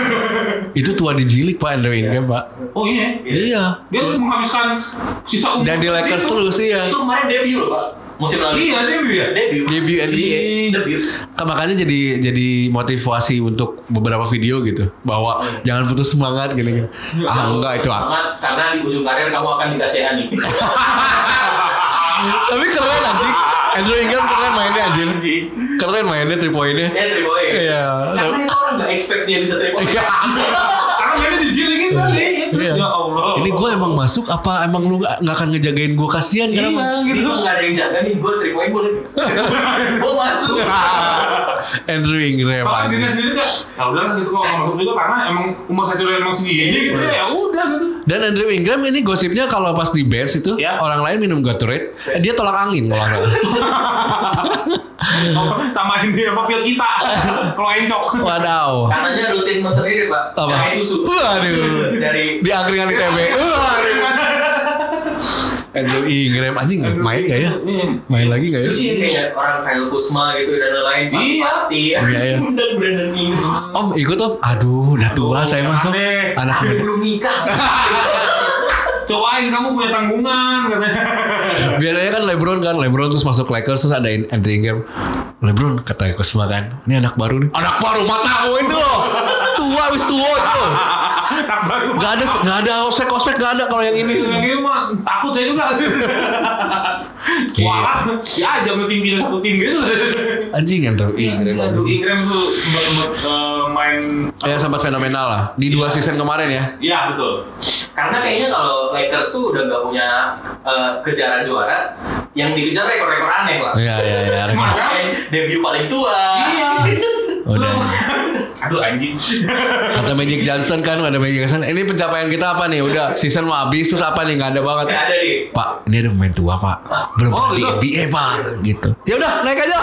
Itu tua dijilik Pak, Andrew Ingram Pak. Oh iya. Iya. Dia menghabiskan sisa umur. Dan di Lakers situ. terus iya. Itu kemarin debut loh Pak. Musim lalu. Iya, debut ya. Debut. Debut N B A. Debut. Kan makanya jadi jadi motivasi untuk beberapa video gitu bahwa jangan putus semangat gitu. Ah enggak itu ah. Semangat, karena di ujung karir kamu akan dikasih ani. Tapi keren anjing. Andrew Ingram keren mainnya anjir. Anjing. Keren mainnya three point-nya. Ya three point. Iya. Karena itu orang nggak expect dia bisa three point. Iya. Karena mainnya dijilingin tadi. Iya. Ya Allah. Ini gue emang masuk apa emang lu gak, gak akan ngejagain gue kasihan Iya, kenapa? gitu. Itu nggak ada yang jaga nih. Gue three point boleh. Gue masuk. Andrew Ingram Bahkan dirinya anjing. sendiri kayak, ya udahlah gitu kok nggak masuk juga karena emang umur satunya emang segini gitu ya udah gitu. Dan Andrew Ingram ini gosipnya kalau pas di bench itu Ya. orang lain minum Gatorade, eh, dia tolak angin kalau nggak salah. Samain dia sama piot kita kalau encok. Wadaw. Katanya rutin mesen ini Pak. Apa? Jahe susu. Waduh. Dari Di angkringan I T B. Waduh. Andrew Ingram anjing main gak ya? Main lagi gak ya? itu sih kayak orang Kyle Kuzma gitu dan lain-lain. Iya. Pati. Iya, iya. Dan Brandon Ingram. Om ikut om. Aduh udah tua Aduh, saya jangan masuk. deh. Anak Aku belum nikah. Cobain kamu punya tanggungan katanya. biasanya kan LeBron kan LeBron terus masuk Lakers terus ada Andrew Ingram. LeBron kata Kusma kan, ini anak baru nih. Anak baru mata itu loh. Tua wis tua itu. Anak baru. Gak ada gak ada ospek ospek gak ada kalau yang ini. Yang ini mah takut saya juga. Kualat, ya aja mau tim pilih satu tim gitu. Anjing Andrew Ingram. Aduh, Ingram tuh sempat sempat eh, main. Ya sempat fenomenal lah di dua season kemarin ya. Iya betul. Karena kayaknya kalau Lakers tuh udah nggak punya eh, kejaran juara, yang dikejar rekor-rekor aneh Pak. Iya iya iya. Macam Debut paling tua. iya. Udah. Aduh anjing. Kata Magic Johnson kan, ada Magic Johnson. Ini pencapaian kita apa nih? Udah season mau habis terus apa nih? Nggak ada banget. Nggak ada nih. Pak, ini ada pemain tua pak. Belum Oh, di gitu. N B A pak. Gitu. Ya udah naik aja.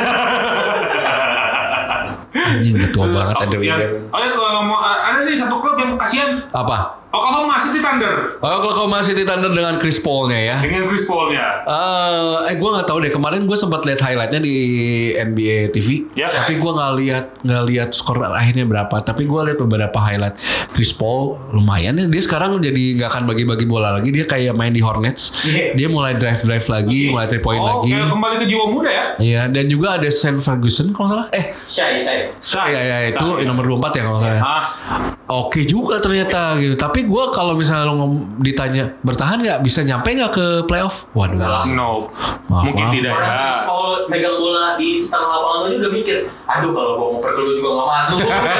Anjing udah tua banget ada Oh, ya. Oh ya kalau ngomong ada sih satu klub yang kasihan. Apa? Oklahoma City Thunder Oh, Oklahoma City Thunder dengan Chris Paul-nya ya. dengan Chris Paul-nya. Eh, eh gue nggak tahu deh. Kemarin gue sempat lihat highlightnya di N B A T V, Ya, tapi gue nggak lihat nggak lihat skor akhirnya berapa. Tapi gue lihat beberapa highlight Chris Paul lumayan ya. Dia sekarang jadi nggak akan bagi-bagi bola lagi. Dia kayak main di Hornets. Dia mulai drive drive lagi, mulai three point Oh, lagi. kayak kembali ke jiwa muda ya. Iya, dan juga ada Sam Ferguson kalau nggak salah. Eh, Shy, shy. Sah. ya ya itu Sah, ya. nomor dua puluh empat ya kalau nggak salah. Ah, Oke juga ternyata gitu. Tapi gue kalau misalnya lo ngom- ditanya bertahan nggak bisa nyampe nggak ke playoff? Waduh. no. Maaf, Mungkin maaf. tidak Orang ya. Chris Paul megang bola di setengah lapangan aja udah mikir, aduh kalau gua mau perkeluar juga nggak masuk.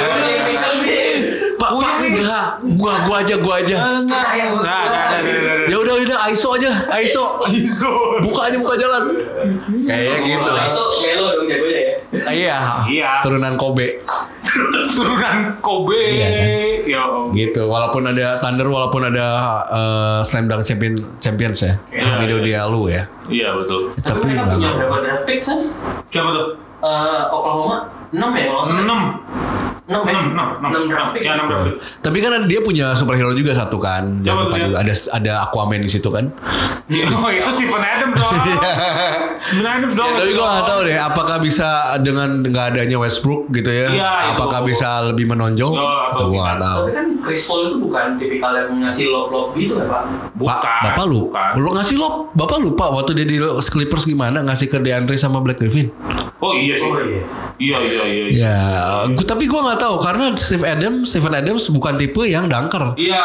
Pak, Pak, enggak, gua gua aja, gua aja. Saya Nah, nah, nah, nah, nah, Ya udah udah I S O aja, I S O. Iso. Buka aja buka jalan. Kayak gitu. Masuk Melo dong jagonya ya. Ah, Iya. Iya. Turunan Kobe. Turunan Kobe. Iya, kan? Ya. Gitu. Walaupun ada Thunder, walaupun ada uh, Slam Dunk Champion Champions ya. Iya, Video iya. dia lu ya. Iya betul. Tapi Tapi mereka enggak. punya berapa draft pick kan? Siapa tuh? Eh, Oklahoma enam ya kalau nggak salah. enam. enam ya? enam, enam, enam, enam draft pick. Ya, enam draft pick. Tapi kan dia punya superhero juga satu kan. Jangan Siapa lupa tuh, juga ada ada Aquaman di situ kan. Oh, itu Stephen Adams dong. Stephen Adams dong. Tapi gue gak tahu deh, apakah bisa dengan nggak adanya Westbrook gitu ya? Iya, itu. apakah bisa lebih menonjol? Oh, atau Gue gak tidak. tahu. Tapi kan Chris Paul itu bukan tipikal yang ngasih lob-lob gitu ya Pak. Bukan. Pak, bapak lu, Bukan. lu ngasih lo, bapak lupa waktu dia di Clippers gimana ngasih ke DeAndre sama Blake Griffin? Oh iya sih. Oh iya. Iya iya iya. Ya, gua, tapi gue nggak tahu karena Steve Adams, Stephen Adams bukan tipe yang dunker. Iya.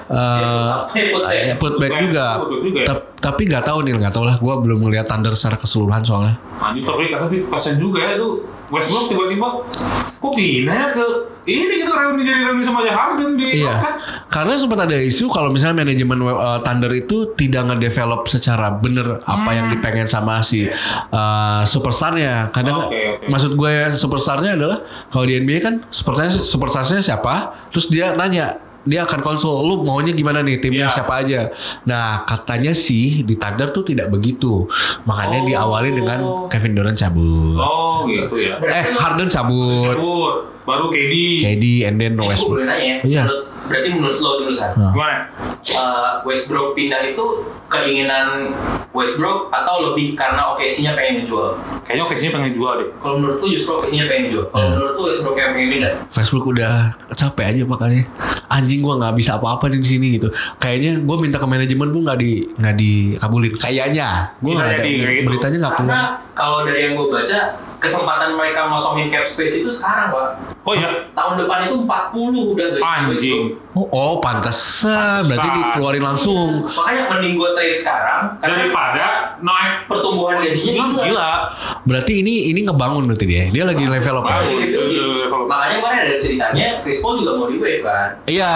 Eh, Put eh, putback Putback juga. putback juga ya? Ta- tapi nggak tahu nih, nggak tahu lah. Gue belum melihat Thunder secara keseluruhan soalnya. Anjir tapi tapi kasian juga ya tuh Westbrook tiba-tiba kok pindah ya ke ini gitu reuni jadi reuni sama aja Harden di Iya, kan. karena sempat ada isu kalau misalnya manajemen uh, Thunder itu tidak ngedevelop secara bener apa yang dipengen sama si uh, superstarnya. Kadang Oke, oke. maksud gue superstarnya adalah kalau di N B A kan superstarnya superstarnya siapa, terus dia nanya dia akan konsul lu maunya gimana nih timnya Iya. siapa aja. Nah katanya sih di Thunder tuh tidak begitu, makanya Oh. diawali dengan Kevin Durant cabut, Oh gitu ya. eh Harden cabut, Cabut. Baru K D. K D and then Ini gue Westbrook. boleh nanya ya. Iya. Menurut- Berarti menurut lo dulu San, Nah. Gimana? eh, Westbrook pindah itu keinginan Westbrook atau lebih karena O K C-nya pengen dijual? Kayaknya okasinya pengen jual deh. Kalau menurut lu justru O K C-nya pengen dijual. Kalau Hmm. menurut lu Westbrook yang pengen pindah. Facebook udah capek aja makanya anjing gua nggak bisa apa-apa di sini gitu. Kayaknya gua minta ke manajemen pun nggak di nggak dikabulin. Kayaknya gua Bisa nggak ada jadi kayak gitu. beritanya nggak keluar. Karena kalau dari yang gue baca, kesempatan mereka ngosongin cap space itu sekarang Pak. Oh iya. Tahun depan itu empat puluh udah gaji Anjing. Oh, oh pantesan berarti Pantesan. dikeluarin langsung. Makanya mending gue trade sekarang karena Daripada naik pertumbuhan gajinya gila. gila. Berarti ini ini ngebangun berarti dia. Dia lagi level up. Bagus. kan? Makanya Level up. makanya kemarin ada ceritanya Chris Paul juga mau di wave kan. Iya,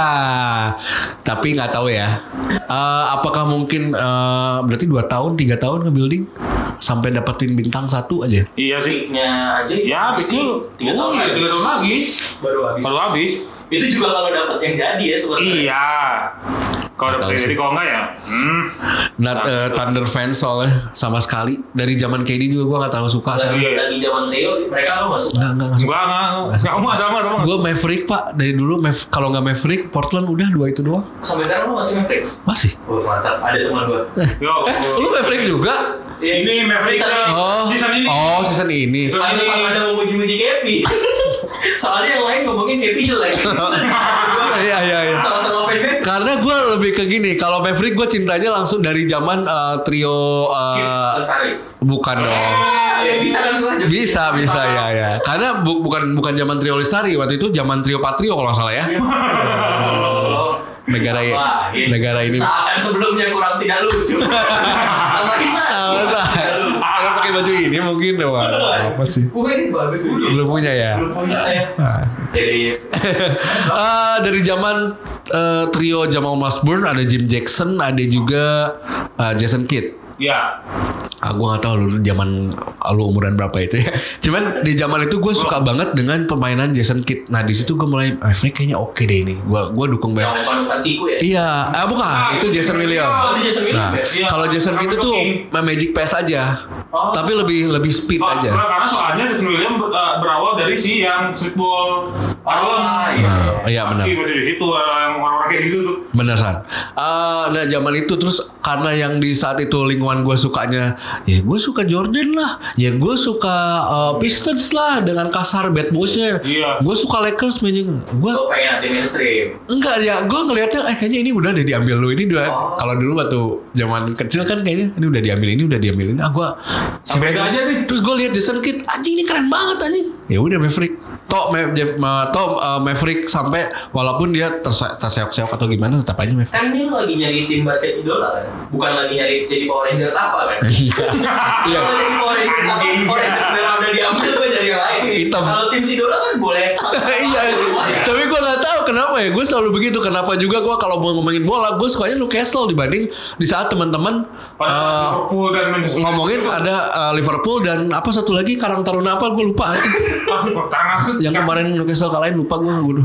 tapi nggak tahu ya. Eh, apakah mungkin eh, berarti dua tahun, tiga tahun nge-building sampai dapetin bintang satu aja? Iya sih. Nya aja Ya betul. tiga tahun Oh, iya, lagi. tiga tahun lagi. baru habis. Baru habis. Itu juga kalau dapat yang jadi ya sebenarnya. Iya. Kalau Nggak tahu udah sih. jadi kalau enggak ya. Hmm. Not eh, Thunder fans soalnya sama sekali. Dari zaman K D juga gue nggak terlalu suka. Lagi, Iya. lagi zaman Theo mereka lo masuk. Nggak nggak nggak suka. Enggak enggak. Enggak mau sama sama. Gue Maverick pak dari dulu. Mav- kalau nggak Maverick, Portland udah dua itu doang. Sampai sekarang lo masih Mavericks? Masih. Oh mantap, ada teman gua. Yo. Eh, lu Maverick juga? Ini Maverick Season ini. Oh, season ini. oh season ini. Season Ada ini. sama ada mau muji-muji Kepi. Soalnya yang lain ngomongin Kepi jelek. Iya iya iya. Sama-sama fan Mavericks. Karena gue lebih ke gini. Kalau Maverick gue cintanya langsung dari zaman eh, trio. eh, Lestari. bukan dong. Ya, bisa kan gua? Bisa bisa ya ya. Karena bu- bukan bukan zaman trio Lestari, waktu itu zaman trio Patrio kalau nggak salah ya. Oh. Negara i- Wah, negara ini. seakan sebelumnya kurang tidak lucu. Tambahin lah. Tidak lucu. Karena pakai baju ini mungkin wah, apa sih? Wah, ini bagus nih. Belum punya ya. Belum punya saya. Nah. Jadi Eh, dari zaman eh, trio Jamal Mashburn ada Jim Jackson, ada juga eh, Jason Kidd. Ya. Ah, gue gak tahu lu zaman lu umuran berapa itu ya. Cuman di zaman itu gue suka banget dengan permainan Jason Kidd. Nah di situ gue mulai, Maverick kayaknya oke deh ini. Gue gue dukung Yang banget. bukan siku ya? Iya, ah bukan, Ah, itu Jason Williams. Oh, itu Jason Williams Nah, ya? Iya. kalau Jason Kidd itu King. Magic Pass aja, Oh. tapi lebih lebih speed So, aja. karena soalnya Jason Williams ber- uh, berawal dari si yang streetball Harlem. Ah, iya. Nah, iya benar. Pasti masih di situ uh, yang orang-orang kayak gitu tuh. Bener San. Uh, nah zaman itu terus karena yang di saat itu lingkungan gue sukanya, ya gue suka Jordan lah, ya gue suka uh, Pistons lah dengan kasar bad boys-nya. Iya. Gue suka Lakers mainnya. Gue Lo pengen anti mainstream. enggak ya, gue ngelihatnya eh kayaknya ini udah deh diambil lu ini udah. Oh. Kalau dulu waktu zaman kecil kan kayaknya ini udah diambil ini udah diambil ini. Ah gue Beda aja nih. Terus gue lihat Jason Kidd, anjing ini keren banget anjing. Ya udah Maverick. Toh, Ma- Jeff- Ma- toh uh, Maverick sampai walaupun dia terse- terseok-seok atau gimana tetap aja Maverick. Kan ini lo lagi nyari tim basket idola kan? Bukan lagi nyari jadi Power Rangers apa kan? Iya. Kalau jadi Power Rangers apa? Power Rangers merah udah diambil gue nyari yang lain. Hitam. Kalau tim idola kan boleh. Iya sih. Tapi gue gak tahu kenapa ya. Gue selalu begitu. Kenapa juga gue kalau mau ngomongin bola, gue sukanya Newcastle dibanding di saat teman-teman Pada uh, Liverpool dan Manchester ngomongin ada uh, Liverpool dan apa satu lagi Karang Taruna apa gue lupa. Langsung pertangan. Yang kemarin Newcastle kalahin lupa gue gue.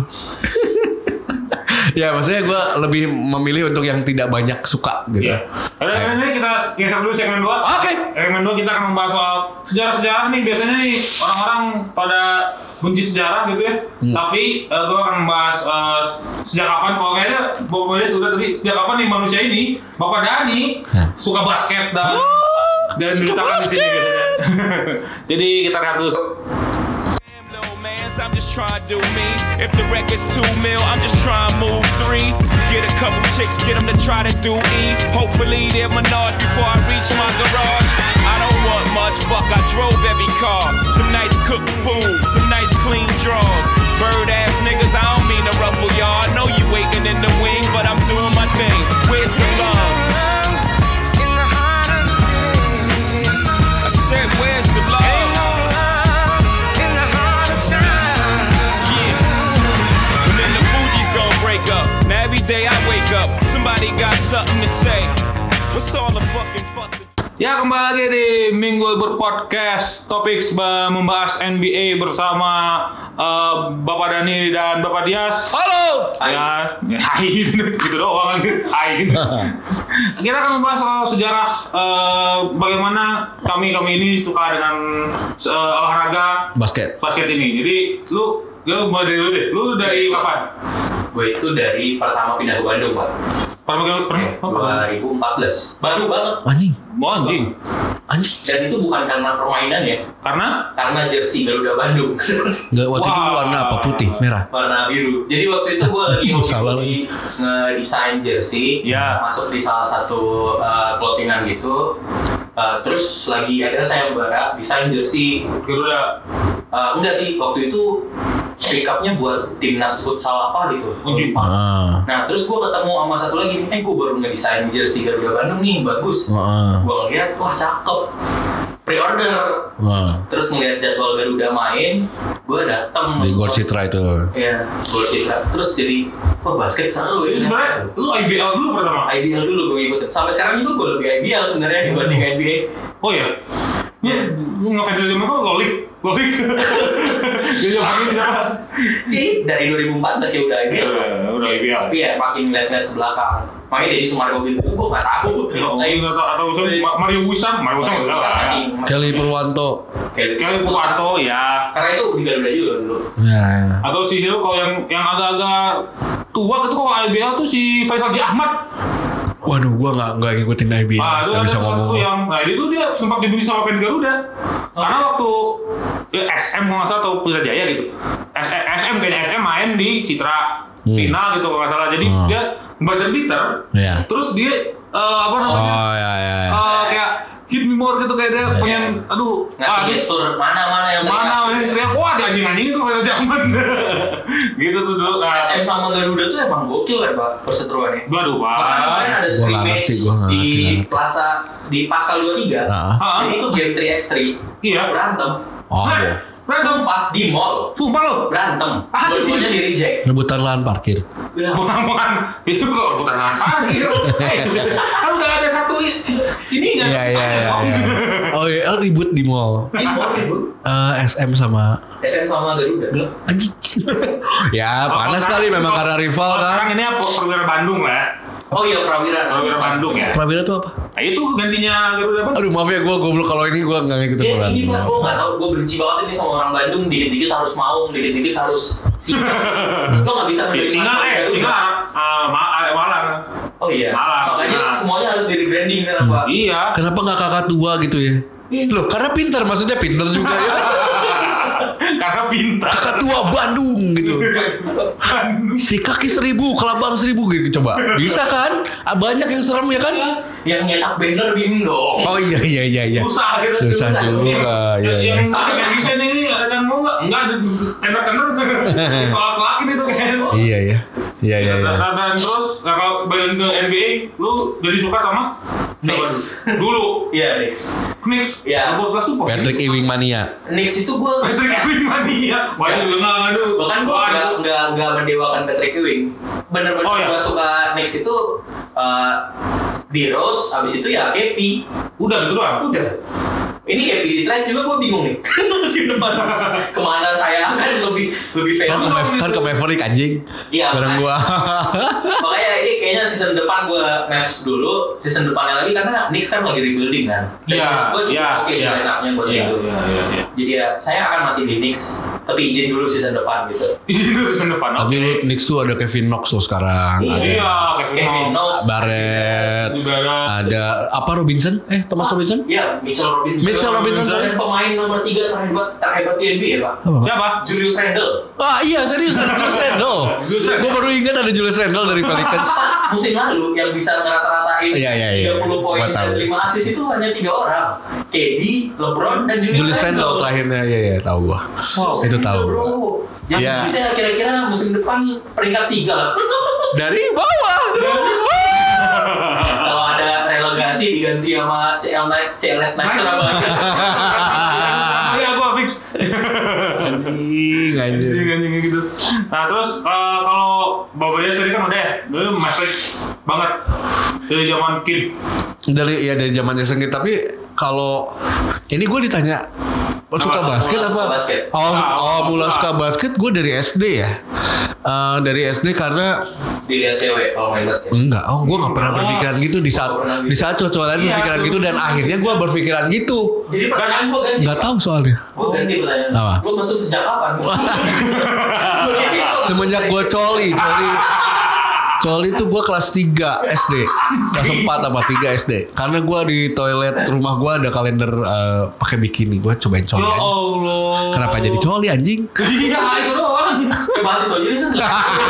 Ya maksudnya gue lebih memilih untuk yang tidak banyak suka gitu. Iya. Ada ini kita geser dulu segmen dua. Oke. Segmen dua kita akan membahas soal sejarah-sejarah nih. Biasanya nih orang-orang pada benci sejarah gitu ya. Hmm. Tapi uh, gue akan membahas uh, sejak kapan. Kalau kayaknya Bapak Bades sudah tadi sejak kapan nih manusia ini Bapak Dani Hah? suka basket dan dan diletakkan di sini biasanya. Jadi kita lihat dulu. Little mans, I'm just trying to do me. If the record's two mil, I'm just trying to move three. Get a couple chicks, get them to try to do E. Hopefully they're Menage before I reach my garage. I don't want much, fuck, I drove every car. Some nice cooked food, some nice clean drawers. Bird ass niggas, I don't mean to ruffle y'all. I know you waiting in the wing, but I'm doing my thing. Where's the love? I said, where's the love? Up. Now every day I wake up, somebody got something to say. What's all the fucking fuss? Ya kembali lagi di Minggu Libur Podcast. Topik membahas N B A bersama uh, Bapak Dani dan Bapak Dias. Halo. Ya, hai gitu, gitu doang lagi. Hai. Kita akan membahas soal sejarah uh, bagaimana kami kami ini suka dengan uh, olahraga Basket. basket ini. Jadi lu lu mulai dari lu deh. Lu dari kapan? Gue itu dari pertama pindah ke Bandung pak. Pertama kali pernah? dua ribu empat belas. Baru banget. Anjing. Oh, anjing. Anjing. Dan itu bukan karena permainan ya, Karena karena jersey Garuda Bandung. Gak, waktu itu Wah. warna apa? Putih, merah. Warna biru. Jadi waktu itu gue lagi Salah hobi ngedesain jersey, Ya. masuk di salah satu uh, clothingan gitu. Uh, terus lagi ada sayembara desain jersey. Garuda. Uh, enggak sih, waktu itu pick up-nya buat timnas futsal apa gitu. Anjing. Lupa. Ah. Nah terus gue ketemu sama satu lagi nih, eh gue baru ngedesain jersey Garuda Bandung nih, bagus. Ah. Gue ngeliat, wah cakep, pre-order. Wah. Terus ngeliat jadwal Garuda main, gue dateng Di Gor Citra itu. Iya, Gor Citra. Terus jadi, wah basket seru ya. Itu sebenarnya lu I B L dulu pertama. I B L dulu gue ngikutin. Sampai sekarang juga gue lebih I B L sebenarnya dibanding N B A. Oh ya. Ya, lu ngefans dari mana? Lolik, lolik. Jadi zaman itu apa? Sih dari dua ribu empat belas ya udah I B L. Udah, udah I B L. Tapi ya makin ngeliat-ngeliat ke belakang. Makanya dari Sumargo gitu, gue nggak tahu. Ya, atau atau misalnya Ma- Mario Wisam, Mario Wisam Mario enggak Wisam lah. masih. Kelly Purwanto. Kelly Kelly Purwanto ya. Karena itu di Garuda juga dulu. Ya, ya. Atau si situ kalau yang yang agak-agak tua itu kalau I B L tuh si Faisal J Ahmad. Waduh, gua nggak nggak ngikutin I B L. Ah, itu Nggak ada bisa salah ngomong. satu yang, nah itu dia sempat dibenci sama fans Garuda. Karena waktu ya, S M kalau nggak salah atau Pelita Jaya gitu. S- SM kayaknya S M main di Citra Hmm. final gitu kalau nggak salah. Jadi Hmm. dia buzzer beater. Iya. Terus dia eh, apa namanya? Oh ya ya. ya. Eh, kayak hit me more gitu kayak dia Iya. pengen aduh Ngasih dia- gestur mana-mana yang mana yang teriak wah ada anjing-anjing itu pada zaman gitu tuh dulu. Nah, S M sama Garuda tuh emang gokil kan Pak perseteruannya. waduh pak. Makanya kemarin ada Gua nggak scrimmage ngerti, gua nggak di ngerti, nggak ngerti. Plaza di Pascal dua puluh tiga. Ah. Ah. Jadi itu game tiga by tiga. Iya. Berantem. Oh, Nah, iya. Berantem. Sumpah di mall. Sumpah lo. Berantem. Ah, Dua-duanya di reject. Rebutan lahan parkir. Ya. Bukan, bukan. Itu kok bukan apa gitu. Eh, kan udah ada satu i- ini kan. Iya iya iya. iya. Oh iya, oh, ribut di mall. Di mall ribut. Eh, S M sama S M sama Garuda. anjing. Ya panas kali memang karena rival Oh, sekarang kan. ini apa? Perwira Bandung lah. Oh iya Prawira. Perwira Bandung ya. Prawira tuh apa? Nah, itu gantinya Garuda Bandung. Aduh maaf ya gue goblok kalau ini gue nggak ngikutin Ya bola. ini pak, gue nggak tahu, gue benci banget ini sama orang Bandung. Dikit-dikit harus maung, dikit-dikit harus singa. Lo nggak bisa menerima Singa sama eh Garuda. singa ah ma- ah, Malang. Oh iya. Malang, Makanya Singa. semuanya harus di rebranding kan pak. Iya. Kenapa nggak kakak tua gitu ya? Loh karena pintar, maksudnya pintar juga ya. Karena pintar. Kakak tua Bandung gitu. Si kaki seribu, kelabang seribu gitu coba. Bisa kan? Ah, banyak yang serem ya kan? Yang nyetak banner bingung dong. Oh iya iya iya iya. Susah gitu. Susah juga. Iya iya. Yang yang desain ini ada yang mau nggak? Enggak ada tender-tender. Ditolak-tolakin itu kan. Iya iya. Iya iya iya. Dan, dan terus nah, kalau balik ke N B A, lu jadi suka sama Knicks. Dulu Iya Knicks. Knicks. Iya. dua belas tuh posisi. Patrick Ewing mania. Knicks itu gue Patrick Ewing mania. Wah itu juga nggak ngadu. bahkan gue nggak nggak nggak mendewakan Patrick Ewing. Bener-bener Oh, iya. gue suka Knicks itu uh, di Rose, abis itu ya K P. Udah gitu doang. Udah. Ini K P di trade juga gue bingung nih. Musim depan kemana saya akan lebih lebih fair. Kan ke, Mav- kan ke Maverick anjing. Iya, Bareng gua. Makanya ini kayaknya season depan gue Mavs dulu, season depannya lagi karena Knicks kan lagi rebuilding kan. Dan Iya. gue cukup Iya. oke sih Iya. enaknya buat Iya, itu. iya, iya, iya. Jadi ya saya akan masih di Knicks, tapi izin dulu season depan gitu. Itu season depan. Tapi lu Knicks tuh ada Kevin Knox tuh sekarang. Iya. Ada Iya, Kevin Knox, Barrett. Di barat. Ada apa Robinson? Eh Thomas Robinson? Iya, Mitchell Robinson. Mitchell Robinson, sorry. Dan pemain nomor tiga terhebat terhebat di N B A, Pak. Apa? Siapa? Julius Randle. Ah iya serius ada Julius Randle. Gue baru ingat ada Julius Randle dari Pelicans. Musim lalu yang bisa ngerata-ratain Iya, iya, iya. tiga puluh poin Gua tahu. dan lima assist itu hanya tiga orang. K D, LeBron, dan Julius, Julius Randle terakhirnya ya ya tahu gua. Wow. Itu tahu. Bro. Yang Iya. bisa kira-kira musim depan peringkat tiga lah. Dari bawah. Kalau ada relegasi diganti sama C L Night, C L S Night Surabaya. Iya gua fix. Anjing anjir. Anjing anjing gitu. Nah terus eh, kalau Bapak dia tadi kan udah ya, dulu Maverick banget dari zaman kid. Dari ya dari zamannya sengit tapi kalau ini gue ditanya suka Apa? basket Mulai apa? suka basket. Oh, Ah, oh, mulai suka. suka basket gue dari S D ya. Eh, dari S D karena Dilihat cewek kalau main basket. enggak, oh gue nggak pernah berpikiran gitu di saat di saat cowok lain Iya, berpikiran tuh. gitu dan akhirnya gue berpikiran gitu. Jadi pertanyaan gue ganti. Nggak tahu soalnya. Gue ganti pertanyaan. Apa? Lo mesum sejak kapan? Gua gini, kok Semenjak gue coli, coli, coli tuh gue kelas tiga S D, kelas empat apa tiga S D. Karena gue di toilet rumah gue ada kalender eh, pakai bikini, gue cobain coli Ya aja. Allah. Kenapa jadi coli anjing? Iya itu doang. Ya bahas itu aja nih San.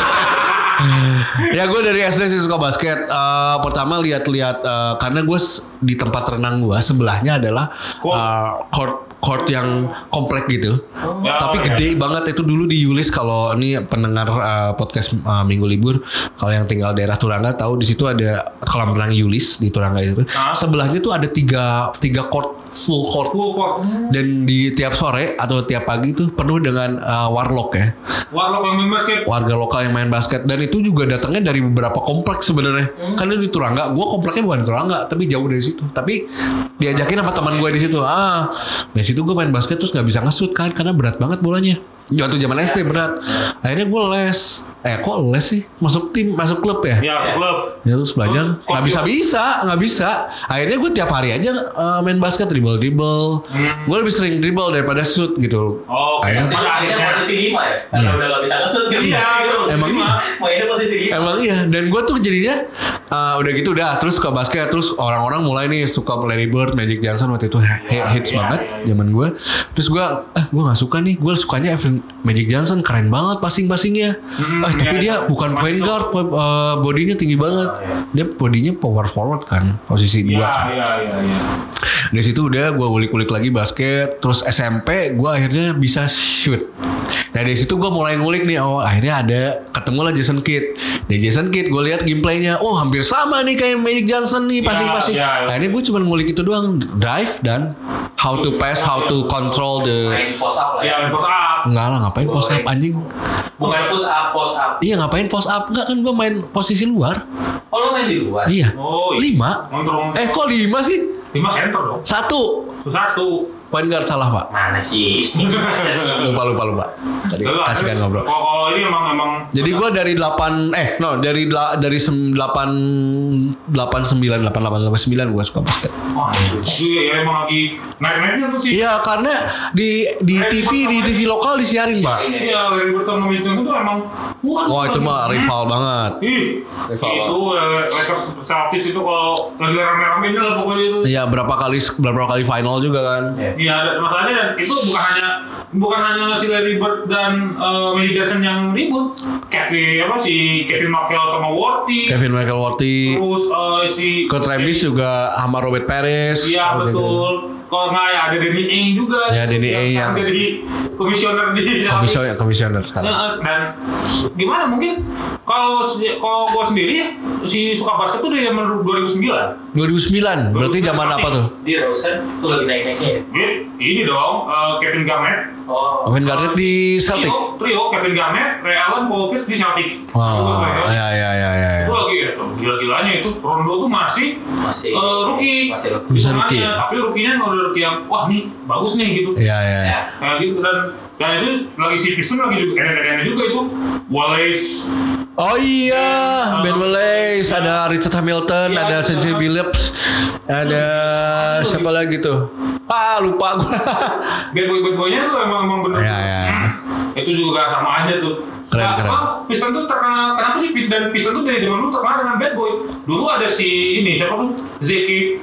Ya gue dari S D sih suka basket. Eh, pertama lihat-lihat eh, karena gue s- di tempat renang gue sebelahnya adalah Court. eh, court court yang komplek gitu. Ya, Tapi oh, gede banget itu dulu di Yulis kalau ini pendengar eh, podcast eh, Minggu Libur kalau yang tinggal daerah Turangga tahu di situ ada kolam renang Yulis di Turangga itu. Hah? Sebelahnya tuh ada tiga tiga court full court Full court. dan di tiap sore atau tiap pagi tuh penuh dengan eh, warlock ya. Warlock yang main basket. Warga lokal yang main basket dan itu juga datangnya dari beberapa kompleks sebenarnya. Karena di Turangga, gue kompleknya bukan di Turangga, tapi jauh dari situ. Tapi diajakin sama teman gue di situ. Ah, dari situ gue main basket terus nggak bisa nge-shoot kan karena berat banget bolanya. Waktu zaman S D berat. Akhirnya gue les. Eh kok les sih? Masuk tim, masuk klub ya? Ya klub. Ya terus belajar Terus, nggak bisa bisa nggak bisa akhirnya gue tiap hari aja uh, main basket dribble dribble Hmm. gue lebih sering dribble daripada shoot gitu. Oke. Akhirnya- Pada akhirnya posisi lima ya. Karena Iya. udah gak bisa nge-shoot gitu. Iya, Gitu. Emang iya. Mainnya posisi lima. Emang iya, dan gue tuh jadinya uh, udah gitu udah terus suka basket terus orang-orang mulai nih suka Larry Bird, Magic Johnson waktu itu he- Iya, hits iya, banget iya, iya. zaman gue. Terus gue, eh gue nggak suka nih, gue sukanya Evan Magic Johnson keren banget passing-passingnya. Hmm, eh tapi iya, dia iya. bukan Cuma point itu. guard, po- uh, bodinya tinggi banget. Dia bodinya power forward kan, posisi Iya dua. iya iya iya. Dari situ udah gue ulik-ulik lagi basket, terus S M P gue akhirnya bisa shoot. Nah dari situ gue mulai ngulik nih, oh akhirnya ada ketemu lah Jason Kidd. Di Jason Kidd gue lihat gameplaynya, oh hampir sama nih kayak Magic Johnson nih, passing-passing. Ya, ya, ya. Akhirnya gue cuma ngulik itu doang, drive dan how to pass, how to control the. Main post up lah ya. Ya, main post up. Enggak lah, ngapain post up anjing? Bukan push up, post up. Iya ngapain post up? Enggak kan gue main posisi luar. Oh lo main di luar? Iya. Oh, iya. Lima. Ngontrol. Eh kok lima sih? lima center dong. Satu. Satu. Point guard salah pak. Mana sih? Lupa lupa lupa. Tadi kasihkan ngobrol. Kalau ini emang emang. Jadi gue dari delapan eh no dari dela- dari delapan delapan sembilan delapan delapan delapan sembilan gue suka basket. Wah, itu ya emang lagi naik-naiknya tuh sih. Iya karena di di T V di T V lokal disiarin pak. Iya, Larry Bird sama Magic Johnson tuh emang. Oh itu mah rival banget. Ih, Rival itu eh, Lakers Celtics itu kalau lagi rame-ramenya lah pokoknya itu. Iya berapa kali berapa kali final juga kan. Iya, ada masalahnya dan itu bukan hanya bukan hanya si Larry Bird dan uh, Magic Johnson yang ribut. Kevin apa si Kevin McHale sama Worthy. Kevin Michael Worthy. Terus uh, si Kurt Rambis juga sama Robert Perez. Iya betul. Kalau nggak ya ada Danny Ainge juga. Ya, Danny Ainge yang- jadi komisioner di Komisioner komisioner sekarang. Nah, dan gimana mungkin kalau kalau gue sendiri ya si suka basket tuh dari zaman dua ribu sembilan. dua ribu sembilan berarti zaman apa tuh? Di Rosen tuh lagi naik-naiknya ya? Ini, ini dong uh, Kevin Garnett. Oh. Kevin Garnett di Celtic. Trio, trio Kevin Garnett, Ray Allen, Paul Pierce di Celtics. Oh, ya ya ya ya. Itu lagi gila-gilanya itu Rondo tuh masih Masih uh, rookie. Masih rookie. Bisa Hitungannya, rookie. Tapi rookie-nya udah rookie yang wah nih bagus nih gitu. Iya iya. Ya. Kayak gitu dan dan itu lagi si Piston lagi juga enak-enaknya juga itu Wallace. Oh iya, Ben Wallace, ada Richard Hamilton, Iya, ada itu. Sensei Billups, ada siapa lagi tuh? Ah lupa gue. Bad boy bad boynya tuh emang emang bener. Iya, iya. Hmm, itu juga sama aja tuh. Keren, Nah, keren. emang Piston tuh terkenal kenapa sih dan Piston tuh dari zaman dulu terkenal dengan bad boy. Dulu ada si ini siapa tuh Zeki,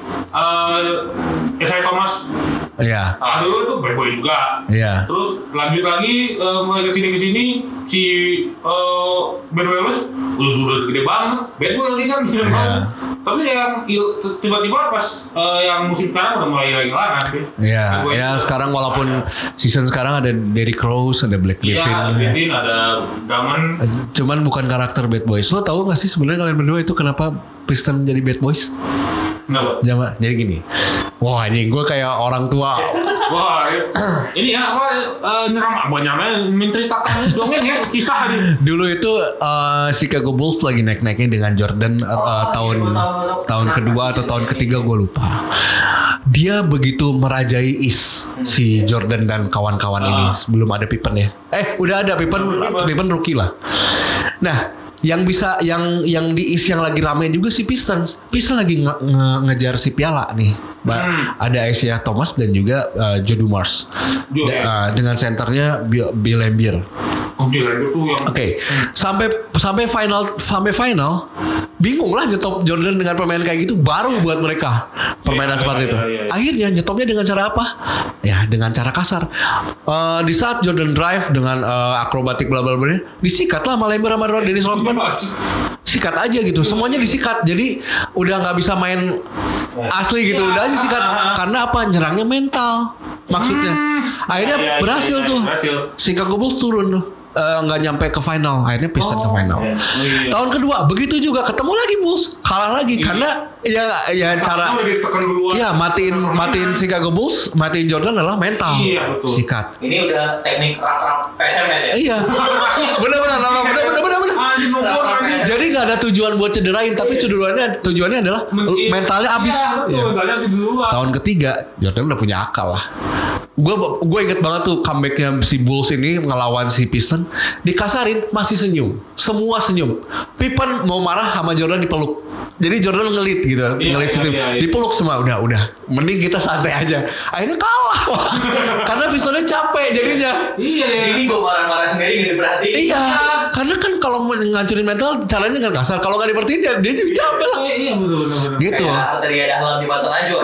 uh, Isaiah Thomas. Iya, Nah, dulu tuh bad boy juga. iya. Terus lanjut lagi uh, mulai kesini kesini si uh, Ben Wallace udah udah gede banget, bad boy lagi kan gede Iya. banget. Tapi yang il- tiba-tiba pas uh, yang musim sekarang udah mulai hilang-hilangan kan. Iya, Bad boy ya itu. sekarang walaupun season sekarang ada Derrick Rose, ada Blake Iya, Griffin. ada Griffin, ada Damon. Cuman bukan karakter bad boys. Lo tahu gak sih sebenarnya kalian berdua itu kenapa Piston menjadi bad boys? Kenapa? Zaman jadi gini. Wah anjing gue kayak orang tua. Wah, ini ya apa uh, nyerang banyaknya menceritakan dongeng ya kisah nih. Dulu itu uh, Chicago Bulls lagi naik-naiknya dengan Jordan uh, tahun tahun kedua atau tahun ketiga gue lupa. Dia begitu merajai East si Jordan dan kawan-kawan ini sebelum ada Pippen ya. Eh udah ada Pippen, Pippen rookie lah. Nah yang bisa yang yang di East yang lagi rame juga si Pistons. Pistons lagi nge- nge- ngejar si piala nih. Ba- Hmm. Ada Isaiah Thomas dan juga uh, Joe Dumars. Joe, Da- ya. uh, dengan senternya Bill, Bill Laimbeer. Oh, gila itu tuh yang Oke, sampai sampai final sampai final bingung lah nyetop Jordan dengan permainan kayak gitu baru buat mereka permainan Iya, seperti iya, itu. iya, iya. Akhirnya nyetopnya dengan cara apa? Ya dengan cara kasar. Eh, di saat Jordan drive dengan eh, akrobatik bla bla bla, disikat lah sama Laimbeer sama Dennis Rodman. Sikat aja gitu, semuanya disikat. Jadi udah nggak bisa main asli gitu, udah aja sikat. Karena apa? Nyerangnya mental. Maksudnya. Akhirnya Iya, iya, berhasil iya, tuh. berhasil. Chicago Bulls turun tuh. Eh, nggak nyampe ke final, akhirnya Piston ke final. iya. Oh, iya. Tahun kedua begitu juga ketemu lagi Bulls, kalah lagi karena ya ya cara udah ditekan duluan. ya matiin matiin Chicago Bulls, matiin Jordan adalah mental. Iya, betul. Sikat. Ini udah teknik rak-rak P S M S ya? Iya. Benar-benar, benar-benar, benar-benar. benar. Anjing nomor anjing. Jadi nggak ada tujuan buat cederain, tapi tujuannya tujuannya adalah Men- mentalnya abis. Iya, betul, Iya. mentalnya habis duluan. Tahun ketiga Jordan udah punya akal lah. Gue gue inget banget tuh comebacknya si Bulls ini ngelawan si Piston, dikasarin masih senyum, semua senyum. Pippen mau marah sama Jordan dipeluk. Jadi Jordan ngelit gitu, Iya, ngelit iya, situ, iya, iya. dipeluk semua udah udah. Mending kita santai aja. Akhirnya kalah, karena Pistonnya capek jadinya. Iya, iya. Jadi gue marah-marah sendiri gak diperhatiin. Iya, karena kan kalau mau ngancurin mental caranya kan kasar. Kalau nggak diperhatiin dia, dia juga capek lah. Iya, iya betul betul betul. Gitu. Kayak Arteria Dahlan di Batu Najwa.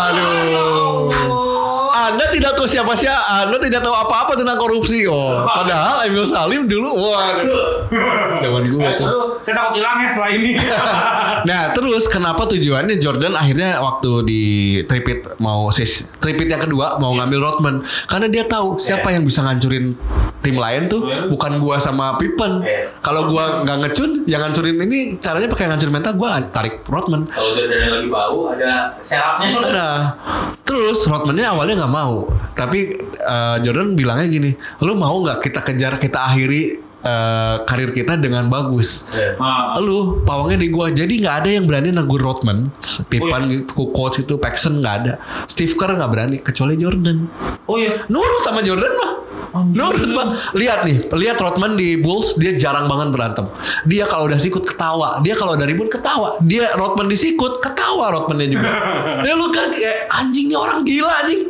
Waduh. Anda tidak tahu siapa-siapa, Anda tidak tahu apa-apa tentang korupsi. Oh, padahal Emil Salim dulu, waduh. Zaman gue Eh, tuh. aduh, saya takut hilang ya setelah ini. Nah terus kenapa tujuannya Jordan akhirnya waktu di tripit mau sis tripit yang kedua mau ngambil Rodman karena dia tahu siapa yang bisa ngancurin tim lain tuh bukan gua sama Pippen. Kalau gua nggak ngecun yang ngancurin ini caranya pakai ngancurin mental gua tarik Rodman. Kalau Jordan lagi bau ada serapnya. Ada. Terus Rodman-nya awalnya nggak mau tapi uh, Jordan bilangnya gini, lu mau nggak kita kejar kita akhiri Uh, karir kita dengan bagus. Yeah. Lu pawangnya di gua. Jadi nggak ada yang berani negur Rodman, Pippen, oh, iya. Coach itu, Paxson nggak ada. Steve Kerr nggak berani kecuali Jordan. Oh iya. Nurut sama Jordan mah. Nurut mah. Lihat nih, lihat Rodman di Bulls dia jarang banget berantem. Dia kalau udah sikut ketawa. Dia kalau udah ribut ketawa. Dia Rodman disikut ketawa Rodmannya juga. Ya lu kan kayak anjing nih orang gila anjing.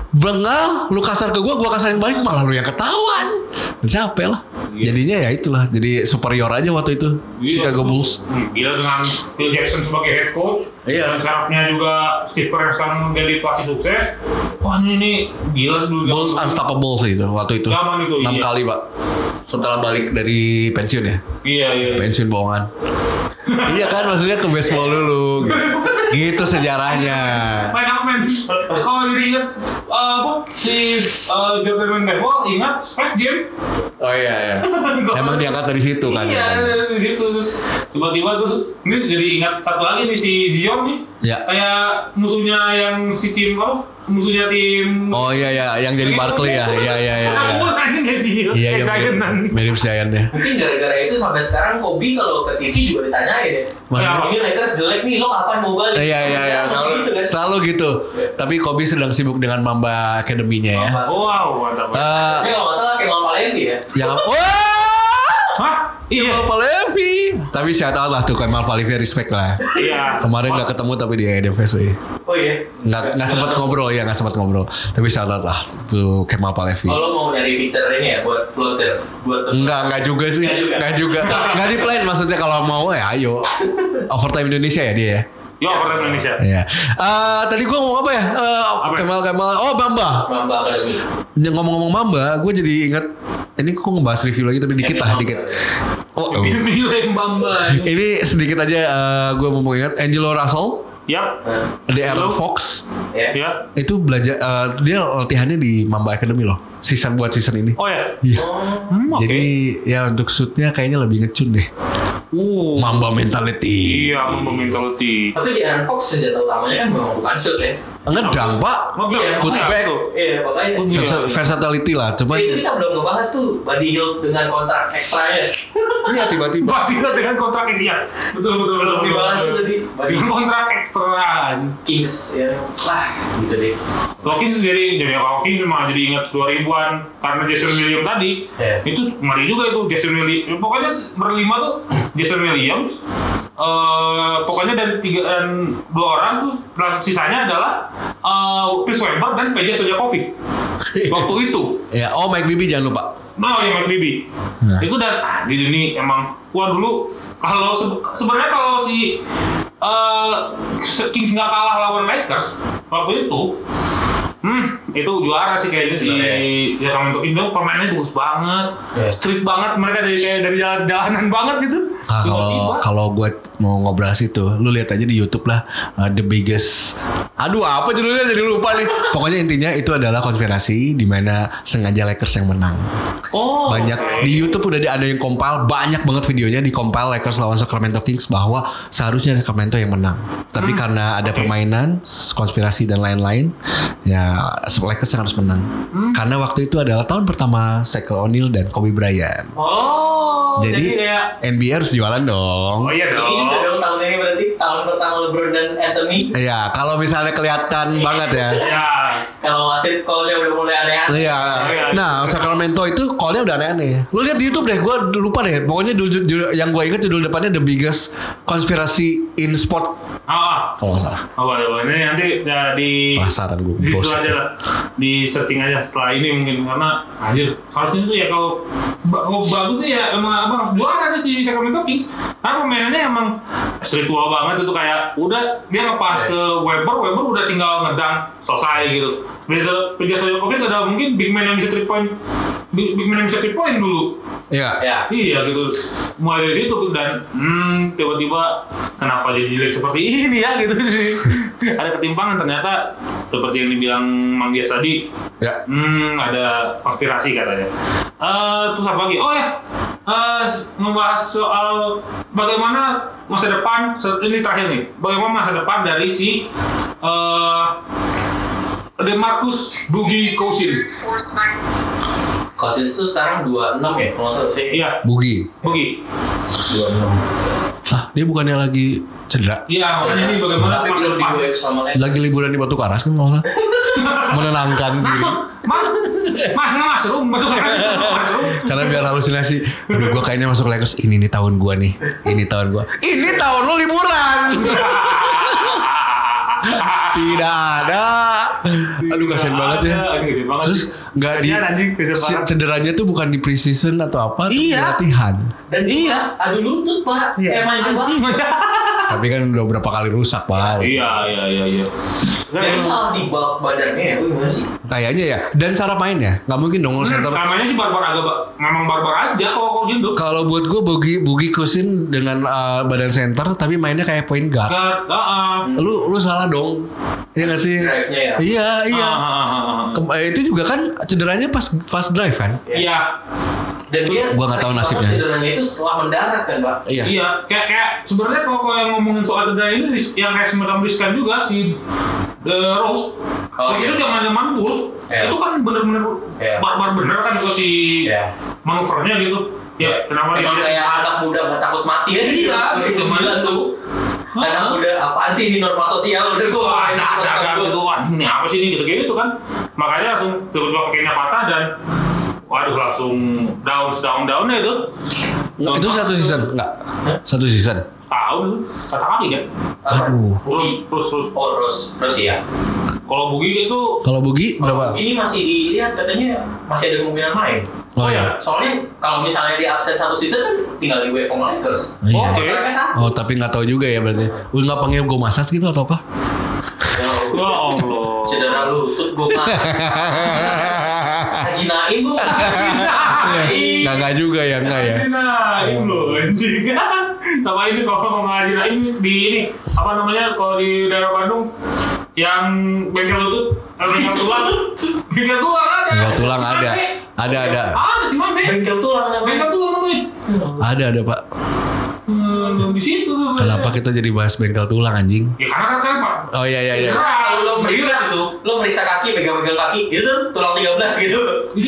Bengal, lu kasar ke gua, gua kasarin balik malah lu yang ketawa. Capek lah. Iya. Jadinya ya itulah, jadi superior aja waktu itu iya, Chicago Bulls. Gila dengan Phil Jackson sebagai head coach, iya. Dan syaratnya juga Steve Kerr sekarang jadi pelatih sukses. Wah ini gila dulu. Bulls unstoppable sih itu waktu itu. Zaman itu enam iya. kali pak. Setelah balik dari pensiun ya. Iya iya. Pensiun bohongan. Iya kan maksudnya ke baseball dulu. Gitu, gitu sejarahnya. Main apa main? Kalau jadi ingat uh, apa si uh, Jordan main baseball ingat Space Jam. Oh iya iya. Emang diangkat dari situ kan? Iya kan? dari situ terus tiba-tiba tuh ini jadi ingat satu lagi nih si Zion nih. Ya. Kayak musuhnya yang si tim apa? Musuhnya tim. Oh iya iya yang jadi Barkley ya. Iya iya iya. Aku anjing kayak sih. Iya iya. Mirip Zion ya. Mungkin gara-gara itu sampai sekarang Kobe kalau ke T V juga ditanyain ya. Maksudnya? Ini Lakers jelek nih, lo kapan mau balik? Iya iya iya. Selalu gitu, kan? selalu gitu. Tapi Kobe sedang sibuk dengan Mamba Academy-nya ya. Wow mantap. Uh, Tapi kalau nggak salah Kemal Palevi ya. yang wah. Hah? Iya. Kemal Palevi. Tapi shout out lah tuh Kemal Palevi, respect lah. Iya. Kemarin nggak ketemu tapi di E D F S sih. Oh iya. Nggak nggak sempat ngobrol ya nggak sempat ngobrol. Tapi shout out lah tuh Kemal Palevi. Kalau mau dari feature ini ya buat floaters, buat Enggak, enggak juga sih. Enggak juga. Enggak di plan maksudnya kalau mau ya ayo. Overtime Indonesia ya dia ya. Yo Overtime Indonesia. Iya. Uh, tadi gua ngomong apa ya? Uh, Apa? Kemal Kemal. Oh Bamba. Mamba Academy. Ngomong-ngomong Mamba, gue jadi ingat. Ini kok ngebahas review lagi tapi dikit lah, dikit. Oh, oh. Milih Bamba. Ini sedikit aja uh, gue mau ingat Angelo Russell. Yap. Di Aaron Halo. Fox. Ya. Ya. Itu belajar uh, dia latihannya di Mamba Academy loh. Season buat season ini. Oh ya. Iya. Hmm, oke. Jadi ya untuk shootnya kayaknya lebih ngecun deh. Uh. Mamba mentality. Iya, Mamba mentality. Tapi di Aaron Fox senjata utamanya kan memang bukan shoot ya. Ngedang pak. Iya, Putback. Iya, makanya. Versa- Versatility lah. Cuma Itu kita belum ngebahas tuh Buddy Hield dengan kontrak ekstranya. iya tiba-tiba. Wah, tidak dengan kontrak ini ya. Betul betul betul. Belum dibahas tuh tadi. Dengan kontrak ekstra. Kings ya. Wah, gitu deh. Hawkins jadi jadi Hawkins cuma jadi ingat dua ribuan karena Jason Williams tadi. Yeah. Itu ngeri juga itu Jason Williams. Pokoknya berlima tuh Jason Williams. Eh pokoknya dari tiga dan dua orang tuh sisanya adalah uh, Chris Webber dan P J Stojakovic. Waktu itu. Ya, oh Mike Bibby jangan lupa. Nah, yang Mike Bibby. Nah. Itu dan ah jadi ini emang wah dulu kalau se- sebenarnya kalau si uh, Kings nggak kalah lawan Lakers waktu itu, hmm itu juara sih kayaknya si ya Sacramento Kings itu permainannya bagus banget, Yeah. street banget mereka dari kayak dari jalan-jalanan banget gitu. Ah, kalau Tiba-tiba. kalau gue mau ngobrol situ, lu lihat aja di YouTube lah, uh, The Biggest. Aduh, apa judulnya jadi lupa nih. Pokoknya intinya itu adalah konspirasi di mana sengaja Lakers yang menang. Oh, Banyak oke. di YouTube udah ada yang compile, banyak banget videonya di compile Lakers lawan Sacramento Kings bahwa seharusnya Sacramento yang menang. Tapi Hmm, karena ada oke. permainan, konspirasi dan lain-lain, ya Lakers yang harus menang. Hmm. Karena waktu itu adalah tahun pertama Shaquille O'Neal dan Kobe Bryant. Oh, jadi, Jadi kayak N B A harus jualan dong. oh iya Ini juga dong. dong tahun ini berarti tahun pertama LeBron dan Anthony. Iya, kalau misalnya kelihatan banget ya. Ya. Kalau wasit call-nya udah mulai aneh-aneh. Iya. Nah, Sacramento itu call-nya udah aneh-aneh. Lu lihat di YouTube deh, gue lupa deh. Pokoknya judul, judul- yang gue ingat judul depannya The Biggest Conspiracy in Sport. Ah, Kalau nggak salah. apa apa ini nanti ya di Penasaran gue. di situ Bos. aja lah, di searching aja setelah ini mungkin karena anjir harusnya tuh ya kalau ba- kalau bagus nih ya emang abang harus juara nih si Sacramento Kings karena permainannya emang street tua banget itu kayak udah dia ngepas ke Weber Weber udah tinggal ngedang selesai gitu gitu. Peja Stojakovic ada mungkin big man yang bisa three point, big, big man yang bisa three point dulu. Iya. Ya. Iya gitu. Mulai dari situ dan hmm, tiba-tiba kenapa jadi jelek seperti ini ya gitu. Ada ketimpangan ternyata seperti yang dibilang Mang Dias tadi. Ya. Hmm, ada konspirasi katanya. Uh, terus apa lagi? Oh ya, uh, ngebahas soal bagaimana masa depan. Ini terakhir nih. Bagaimana masa depan dari si uh, DeMarcus Boogie Cousins. Cousins itu sekarang dua puluh enam ya, kalau nggak salah sih. Iya. Boogie. Boogie. dua puluh enam. Ah, dia bukannya lagi cedera? Iya, makanya ini bagaimana tapi masa belum di depan. wave sama Lakers. Lagi liburan di Batu Karas kan malah. Menenangkan diri. Mas, mas nggak masuk, masuk masuk. Karena biar halusinasi. Aduh, gue kayaknya masuk Lakers. Ini nih tahun gue nih. Ini tahun gue. Ini tahun lu liburan. Tidak ada. Aduh, kasian banget ya. Aduh, kasian banget. Terus nggak di Kasian, anjing, kasian banget. cederanya tuh bukan di preseason atau apa? tapi Iya. di latihan. Dan iya, adu lutut pak, kayak main Anjing. Tapi kan udah berapa kali rusak pak. Iya, iya, iya, iya. Dan salah di bawah badannya ya, wih gimana sih? Kayaknya ya. Dan cara mainnya nggak mungkin dong Hmm, center. namanya sih barbar agak ba- memang barbar aja kalau Cousins tuh. Kalau buat gue Boogie Boogie Cousins dengan uh, badan center tapi mainnya kayak point guard. Guard, heeh. Lu lu salah dong. Iya nggak sih? Drive-nya ya. Iya iya. Ah, ah, ah, ah. Kem- eh, itu juga kan cederanya pas pas drive kan? Iya. Dan dia Gua nggak tahu sakit nasibnya. banget cederanya itu setelah mendarat kan pak. Iya. Iya, kayak kayak sebenarnya kalau kalau yang ngomongin soal cedera ini ris- yang kayak semacam riskan juga si The Rose. Oh, Terus iya. itu zaman-zaman Bulls, Iya. itu kan bener-bener Iya. barbar bener kan itu si Iya. manuvernya gitu. Ya, kenapa dia Emang kayak anak muda nggak takut mati ya? Iya, dua ribu sembilan tuh. Anak muda apaan sih ini norma sosial udah gue wah, jaga gitu, wah ini apa sih ini gitu-gitu kan. Makanya langsung tiba-tiba kakinya patah dan waduh langsung down down down ya itu. Itu satu season enggak? Satu season. Tahun itu patah kaki kan. Aduh. Terus terus terus. Oh terus terus ya. Kalau Boogie itu Kalau Boogie berapa? Ini masih dilihat katanya masih ada kemungkinan main. Oh ya. Soalnya kalau misalnya dia absen satu season kan tinggal di wave sama Lakers. Iya. Oke. Kontraknya satu. Oh tapi nggak tahu juga ya berarti. Udah nggak panggil gue massage gitu atau apa? ya Allah. Cedera lutut gue mah. Haji Naim gue. Nggak nggak juga ya nggak ya. Naim loh anjing. Sama ini kalau ngaji Naim di ini apa namanya kalau di daerah Bandung yang bengkel lutut, eh, bengkel tulang, bengkel tulang ada. Bengkel tulang Cuman, ada. Be. Ada ada. Ada di mana? Be? Bengkel tulang namanya. Bengkel tulang namanya. Ada ada pak. Hmm, di situ tuh. Be. Kenapa kita jadi bahas bengkel tulang anjing? Ya karena kan saya Pak. Oh iya iya iya. Nah, Lo meriksa itu. lo meriksa kaki, pegang-pegang kaki, itu tuh tulang tiga belas gitu.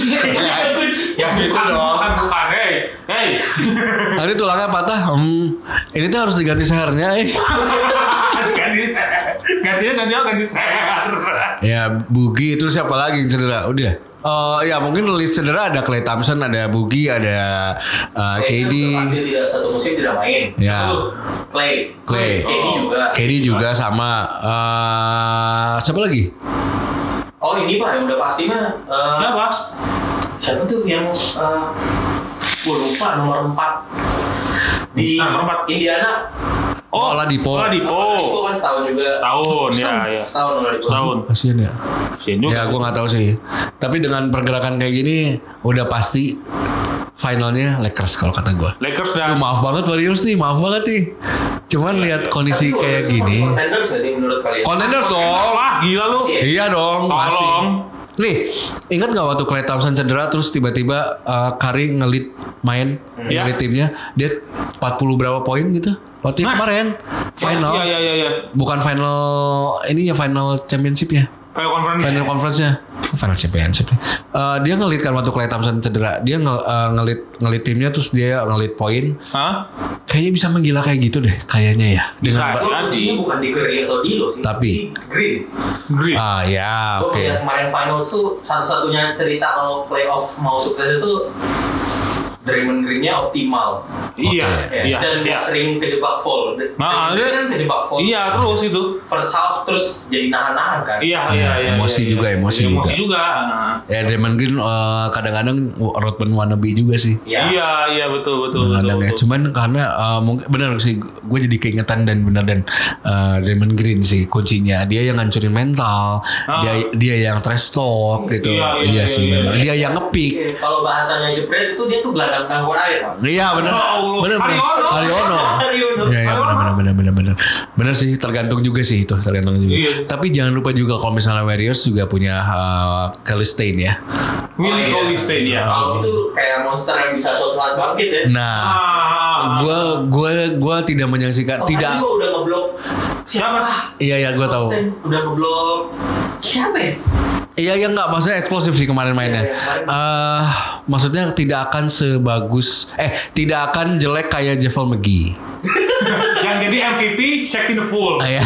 Ya gitu bukan, dong. Bukan, bukan. Hey, hey. Nanti tulangnya patah. Hmm, ini tuh harus diganti sehernya. Eh. ganti gantinya ganti ganti seher. Ya Boogie terus siapa lagi yang cedera? Udah. Oh ya mungkin list cedera ada Klay Thompson, ada Boogie, ada uh, K D. Pasti tidak satu musim tidak main. Ya. Satu, Clay. Clay. K D juga. K D juga sama. Uh, siapa lagi? Oh ini pak yang udah pasti mah. eh, Siapa? Siapa tuh yang uh, gue lupa nomor empat di Nah, nomor empat. Indiana. Oh, Oladipo. Oladipo. Itu kan setahun juga. Tahun ya, ya. Setahun Oladipo. Setahun. Kasian ya. Kasian juga. Ya gue nggak tahu sih. Tapi dengan pergerakan kayak gini udah pasti finalnya Lakers kalau kata gue. Lakers Duh, dan maaf banget Warriors nih, maaf banget nih. Cuman lihat kondisi Tapi kayak Warriors gini. Contenders nggak sih menurut kalian? Contenders dong. wah gila lu. Iya dong, masih. Tolong. Nih, ingat nggak waktu Klay Thompson cedera terus tiba-tiba uh, Curry ngelit main, Iya. ngelit timnya, dia empat puluh berapa poin gitu? Waktu Nah. kemarin final, Iya iya iya iya. bukan final ininya final championship-nya. Final conference. Final conference-nya, final championship. Uh, dia ngelit kan waktu Klay Thompson cedera, dia nge, uh, ngelit ngelit timnya terus dia ngelit poin. Hah? Kayaknya bisa menggila kayak gitu deh, kayaknya ya. Bisa. Dengan ba- Gue lucunya bukan di Curry atau Dilo sih. Tapi- di Green. Green. ah ya, Gue oke. ngeliat kemarin finals tuh satu-satunya cerita kalau playoff mau sukses itu Draymond Green-nya optimal. Iya, Ya, iya. dan iya. dia sering kejebak foul. Nah, Draymond Green kan kejebak foul. Iya, terus itu. First half terus jadi nahan-nahan kan. Iya, Iya, iya, iya. emosi iya, juga, iya. emosi Emosi juga. juga. Nah. Ya Draymond Green uh, kadang-kadang Rodman wannabe juga sih. Iya. Iya, iya betul, betul, betul. Kadang ya, betul. cuman karena uh, mungkin benar sih, gue jadi keingetan dan benar dan uh, Draymond Green sih kuncinya. Dia yang ngancurin mental, Ah. dia dia yang trash talk gitu. Iya, Iya, iya, sih, iya, memang. iya. Dia yang ngepick. Oke, kalau bahasanya jebret itu dia tuh gelandang tangguh air, Pak. Iya benar, Ya Allah. benar benar. Haryono. Haryono. Haryono. Iya iya benar benar benar benar. Benar sih, tergantung juga sih itu, tergantung juga. Iya. Tapi jangan lupa juga kalau misalnya Warriors juga punya uh, Kelly Stein ya. Willie Oh, iya. Cauley-Stein ya. Kalau itu kayak monster yang bisa suatu saat bangkit ya. Nah, Ah, gua gua gua tidak menyaksikan Oh, tidak. tadi gua udah ngeblok. Siapa? Iya iya gua tahu. Austin udah ngeblok. Siapa ya? Iya iya nggak, maksudnya eksplosif sih kemarin mainnya. Iya, iya, kemarin. Eh, maksudnya tidak akan sebagus eh tidak akan jelek kayak Javel McGee. Yang jadi M V P Shaq in the Fool. Ah, ya.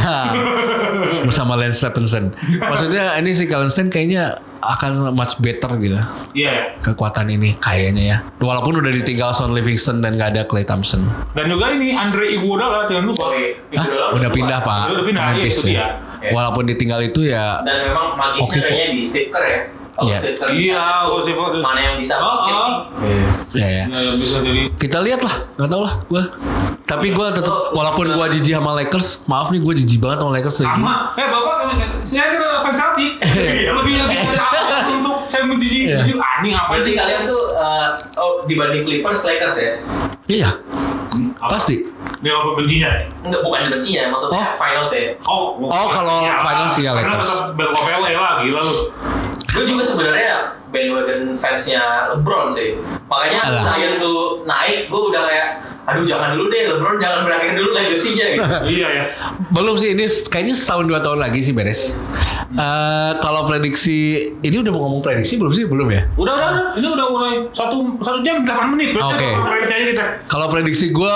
Bersama Lance Stephenson. Maksudnya ini si Kallenstein kayaknya akan much better gitu. Iya. Kekuatan ini kayaknya ya. Walaupun udah ditinggal Sean Livingston dan nggak ada Klay Thompson. Dan juga ini Andre Iguodala jangan lupa. Oh, iya. Hah? Iguodala Udah pindah keluar. Pak. Udah pindah, Ke Memphis iya, itu ya. dia. Ya. Walaupun ditinggal itu ya. Dan memang magisnya Oke, kayaknya di Steve Kerr ya. Kalau Iya. Steve Kerr Iya, bisa kalau tuh, Steve Kerr- mana yang bisa Oh, bangkit oh. nih. Ya ya. Ya, ya bisa jadi. Kita lihat lah, nggak tahu lah gue. Tapi gue tetap, walaupun gue jijik sama Lakers, maaf nih gue jijik banget sama Lakers lagi. Sama. Eh bapak, saya kan fans Celtic. Lebih lebih dari apa untuk saya menjijik Iya. jijik anjing apa Berarti sih? kalian tuh eh, oh dibanding Clippers Lakers ya? Iya, pasti. Dia apa bencinya? Enggak, bukan bencinya, maksudnya Oh. finals ya. Oh, Oh, kalau iyalah. finals ya Finals Lakers. tetap Battle of L A lah, gila lu. Gue juga sebenarnya bandwagon fansnya LeBron sih. Makanya Alah. Zion tuh naik, gue udah kayak, aduh jangan dulu deh, LeBron jangan berakhir dulu legasinya gitu. Iya ya. Belum sih, ini kayaknya setahun dua tahun lagi sih beres. Eh kalau prediksi, ini udah mau ngomong prediksi belum sih? Belum ya? Udah udah udah. Ini udah mulai satu satu jam delapan menit. Berarti Oke. kita prediksi aja kita. Kalau prediksi gue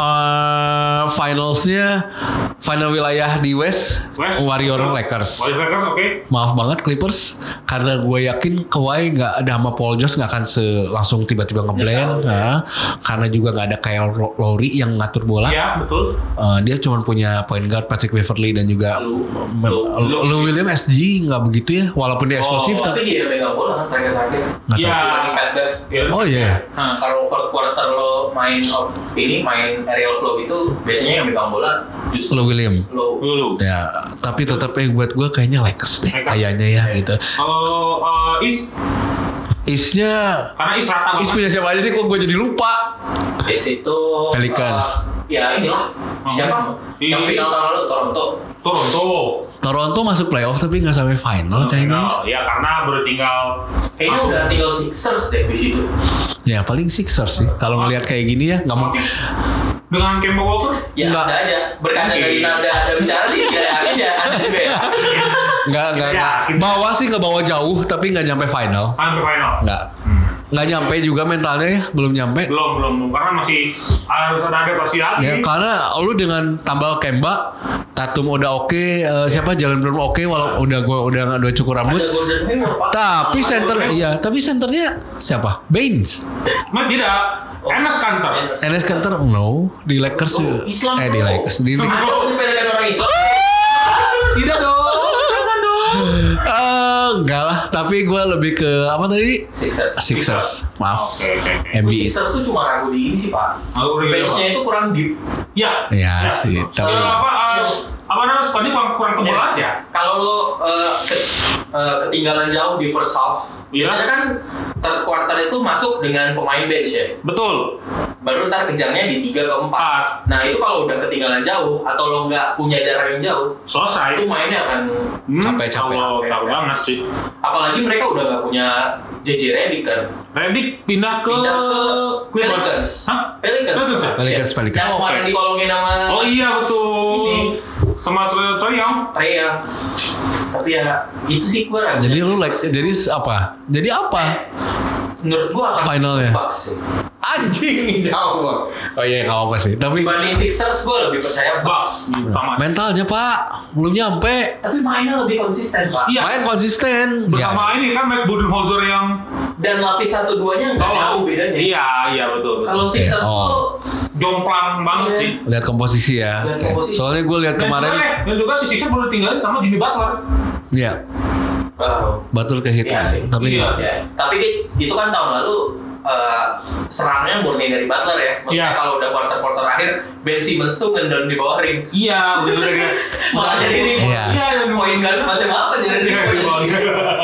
uh, finalsnya final wilayah di West, West. Warrior Lakers. Warriors Lakers oke. Maaf banget Clippers, karena gue yakin Kawhi nggak ada sama Paul George nggak akan se langsung tiba-tiba ngeblend, nah, karena juga nggak ada Kyle Lowry yang ngatur bola. Iya betul. Uh, dia cuma punya point guard Patrick Beverley dan juga Lu, Lou lu, Lou Williams S G nggak begitu ya, walaupun dia eksplosif. Oh, tapi tapi dia megang bola kan terakhir-terakhir. nggak Iya. tahu. Dibanding Pat Bev. Iya. Oh iya. Nah, Kalau fourth quarter lo main op- ini main aerial flow itu biasanya yang megang bola justru Lou Williams. lo. dulu. Ya, tapi tetap eh, buat gue kayaknya Lakers deh, Lakers. kayaknya ya gitu. Kalau uh, East, Isnya, karena East rata Is banget. punya siapa aja sih? Kok gue jadi lupa? Is itu Pelicans. uh, ya inilah Oh. siapa Di- yang final tahun lalu Toronto. Toronto. Toronto masuk playoff tapi nggak sampai final kayaknya. Nah, ya karena baru tinggal Kayaknya masuk. udah tinggal Sixers deh di situ. Ya paling Sixers sih. Kalau ngelihat kayak gini ya nggak mau. Celtics dengan Kemba Walker. Ya Enggak. ada aja. Berkaca dari nada ada bicara sih tidak ada ada juga ya. Nggak nggak Ya, nggak. kita- Bawa sih nggak bawa jauh tapi nggak nyampe final. Hampir final. Nggak. Nggak nyampe juga mentalnya ya, belum nyampe. Belum belum belum. karena masih harus ada adaptasi lagi. Ya karena lu dengan tambah Kemba, Tatum udah oke, eh, siapa Jalen Brown oke, walau udah gua udah udah cukur rambut. Ada Golden Hayward Pak. Tapi Ada center Golden iya, tapi centernya siapa? Baines. Mas tidak. Enes Kanter. Enes Kanter no di Lakers Oh, Islam, eh di bro. Lakers di Ada menyepelekan orang Islam. Tidak dong. Jangan dong. Eh, enggak lah, tapi gue lebih ke apa tadi? Sixers. Sixers. Maaf. Oke oke oke. N B A. Sixers tuh cuma ragu di ini sih Pak. Aku udah gila, Benchnya Pak. itu kurang deep. Ya. Ya, sih, Eh, tapi- apa eh, apa namanya squadnya kurang kurang tebal Ya. aja. Kalau lo uh, ke- uh, ketinggalan jauh di first half, Iya. biasanya kan third quarter itu masuk dengan pemain bench ya. Betul. Baru ntar kejarnya di tiga ke empat. Nah itu kalau udah ketinggalan jauh atau lo nggak punya jarak yang jauh, Selesai. itu mainnya akan Hmm, Capek-capek. kalau- capek banget sih. apalagi mereka udah nggak punya J J Redick kan. Redick pindah ke Pindah ke Clippers. Pelicans. Hah? Pelicans. Pelicans ya? Pelicans, Ya. Pelicans. Yang kemarin Oke. dikolongin sama Oh iya betul. Ini. Sama Trae Trae Young. Trey ya. Tapi ya itu sih gue ragu. Jadi lu like jadi apa? Jadi apa? Menurut gue akan Finalnya. Bucks sih. Anjing jauh. Oh iya nggak apa sih. Tapi Dibanding Sixers gue lebih percaya Bucks. Sama. mentalnya Pak belum nyampe. Tapi mainnya lebih konsisten Pak. Iya. Main konsisten. Bersama ini kan Mike Budenholzer yang Dan lapis satu duanya nggak jauh bedanya. Iya, iya betul. betul. Kalau Sixers Iya, oh. tuh Jomplang banget Iya. sih. Lihat komposisi ya. Lihat komposisi. Soalnya gue lihat Dan kemarin. juga, dan juga si Sixers baru tinggalin sama Jimmy Butler. Iya. oh, Betul ke hit. Iya sih. Tapi Iya. ya. Tapi itu kan tahun lalu eh, serangnya murni dari Butler ya. Maksudnya Iya. kalau udah quarter-quarter akhir Ben Simmons tuh ngendon di bawah ring. Iya, betul betul. Makanya ini Iya. Iya, yang poin guard macam apa jadi di Iya, di bawah.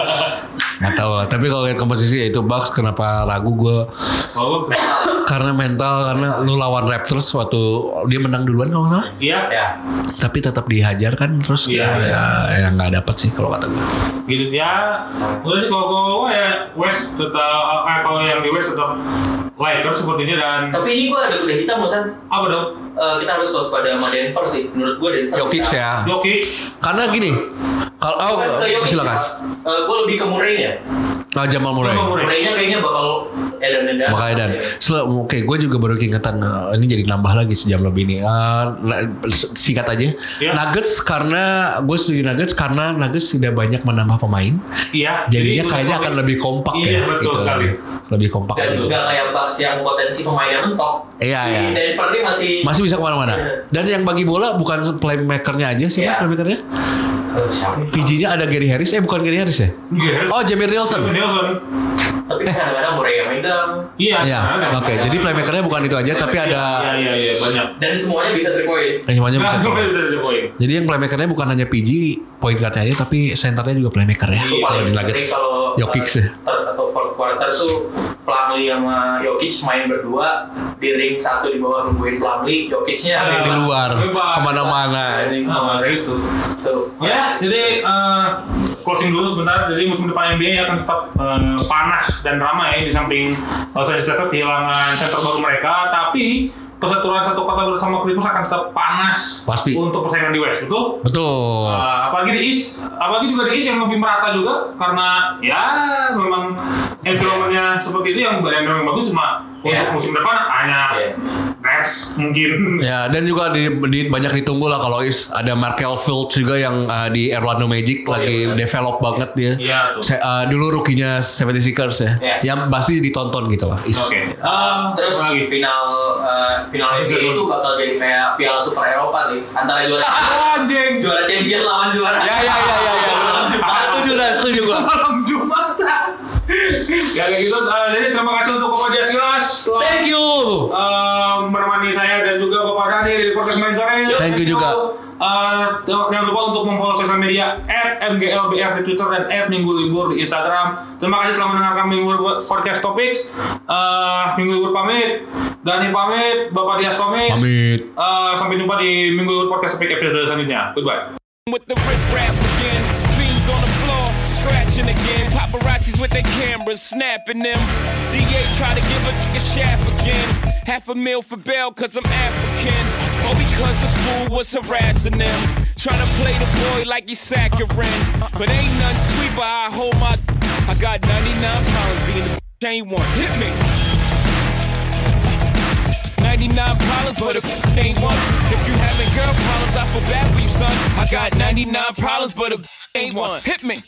nggak tahu lah. Tapi kalau lihat komposisi ya itu Bucks kenapa ragu gue Oh, karena mental karena lu lawan Raptors waktu dia menang duluan kalau nggak salah. iya. Ya. Tapi tetap dihajar kan terus Iya, ya, ya nggak dapat sih kalau kata gue. Gitu ya. Udah sih kalau gue ya West tetap eh, kalau yang di West tetap Lakers sepertinya dan Tapi ini gue ada kuda hitam Musan. apa dong? Eh, kita harus waspada sama Denver sih. Menurut gue Denver. Jokic bisa- ya. Jokic. Karena gini, kalau oh, Bukan ke Jokic, silakan. Pak. Eh, gue lebih ke Murray-nya. Nah, Jamal Murray. Jamal Murray. Murray-nya kayaknya bakal edan-edan. Makanya dan Sel- oke gue juga baru keingetan uh, ini jadi nambah lagi sejam lebih nih. Uh, na- singkat aja. Iya. Nuggets karena gue setuju Nuggets karena Nuggets tidak banyak menambah pemain. Iya. Jadinya jadi kayaknya lebih- akan lebih kompak Iya, ya. betul gitu. sekali. Lebih kompak Dan aja. nggak kayak Bucks yang potensi pemainnya mentok. Iya, Di iya. Denver ini masih Masih bisa kemana-mana. Iya. Dan yang bagi bola bukan playmakernya aja sih, Iya. playmakernya. Eh, siapa? P G-nya ada Gary Harris, eh bukan Gary Harris ya? Iya. Oh, Jameer Nelson. Nelson. Tapi kadang-kadang Murray yang megang. Iya. Iya, nah, oke. Jadi playmakernya bukan itu aja, tapi ada Iya, iya, iya, banyak. Dan semuanya bisa three point. eh, semuanya bisa. Nah, bisa jadi poin. Jadi yang playmakernya bukan hanya P G, point guard aja, tapi centernya juga playmaker ya. Iya, Itu Kalau paling di penting Nuggets, kalau Jokic eh, sih. third atau fourth quarter tuh Plumlee sama Jokic main berdua di ring satu di bawah nungguin Plumlee, Jokicnya Di luar, Bebas. kemana-mana. Nah, itu. Tuh. Ya, jadi eh, closing dulu sebentar. Jadi musim depan N B A akan tetap eh, panas dan ramai di samping Los Angeles Lakers kehilangan center baru mereka, tapi persatuan satu kota bersama Clippers akan tetap panas Pasti. untuk persaingan di West, betul? Betul. Uh, apalagi di East, apalagi juga di East yang lebih merata juga karena ya memang environment-nya seperti itu yang yang memang bagus cuma Yeah. untuk musim depan hanya Yeah. Nets mungkin. Ya, dan juga di, di- banyak ditunggu lah kalau is ada Markel Fultz juga yang uh, di Orlando Magic Oh, lagi iya, benar. develop banget dia. Iya, tuh. Se- uh, dulu rukinya seventy-sixers ya. Iya. Yang pasti ditonton gitu lah. Is. Oke. Uh, Terus apa lagi? final uh, final N B A itu bakal jadi kayak Piala Super Eropa sih antara juara Anjing. juara champion lawan juara. Ya ya ya ya ya. Setuju lah, setuju gua. Malam Jumat. Ya kayak gitu. Uh, jadi terima kasih untuk Bapak Jasilas. Thank you. Uh, menemani saya dan juga Bapak Dani di podcast Main Sore. Thank you juga. Uh, jangan lupa untuk memfollow sosial media at m g l b r di Twitter dan at Minggu Libur di Instagram. Terima kasih telah mendengarkan Minggu Libur Podcast Topics. Uh, Minggu Libur pamit, Dani pamit, Bapak Dias pamit. Pamit. Uh, sampai jumpa di Minggu Libur Podcast Topics episode selanjutnya. Goodbye. With the rip rap again, beans on the floor, scratching again. Paparazzis with their cameras, snapping them. D A try to give a nigga shaft again. Half a meal for bail, cause I'm African. Or because the fool was harassing them. Trying to play the boy like he's saccharine. But ain't none sweet, but I hold my. I got ninety-nine pounds, being the ain't one. Hit me. ninety-nine problems, but a ain't one. If you having girl problems, I feel bad for you, son. I got ninety-nine problems, but a ain't one. Hit me.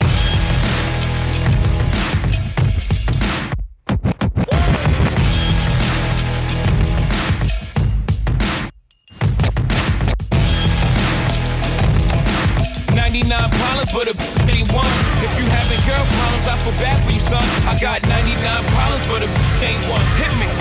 ninety-nine problems, but a ain't one. If you having girl problems, I feel bad for you, son. I got ninety-nine problems, but a ain't one. Hit me.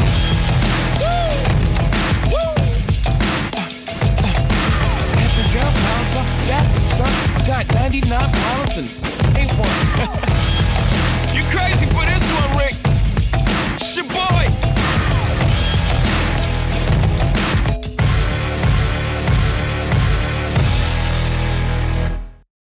Girl problems, I feel bad for you, son. I got ninety-nine problems and ain't one. You crazy for this?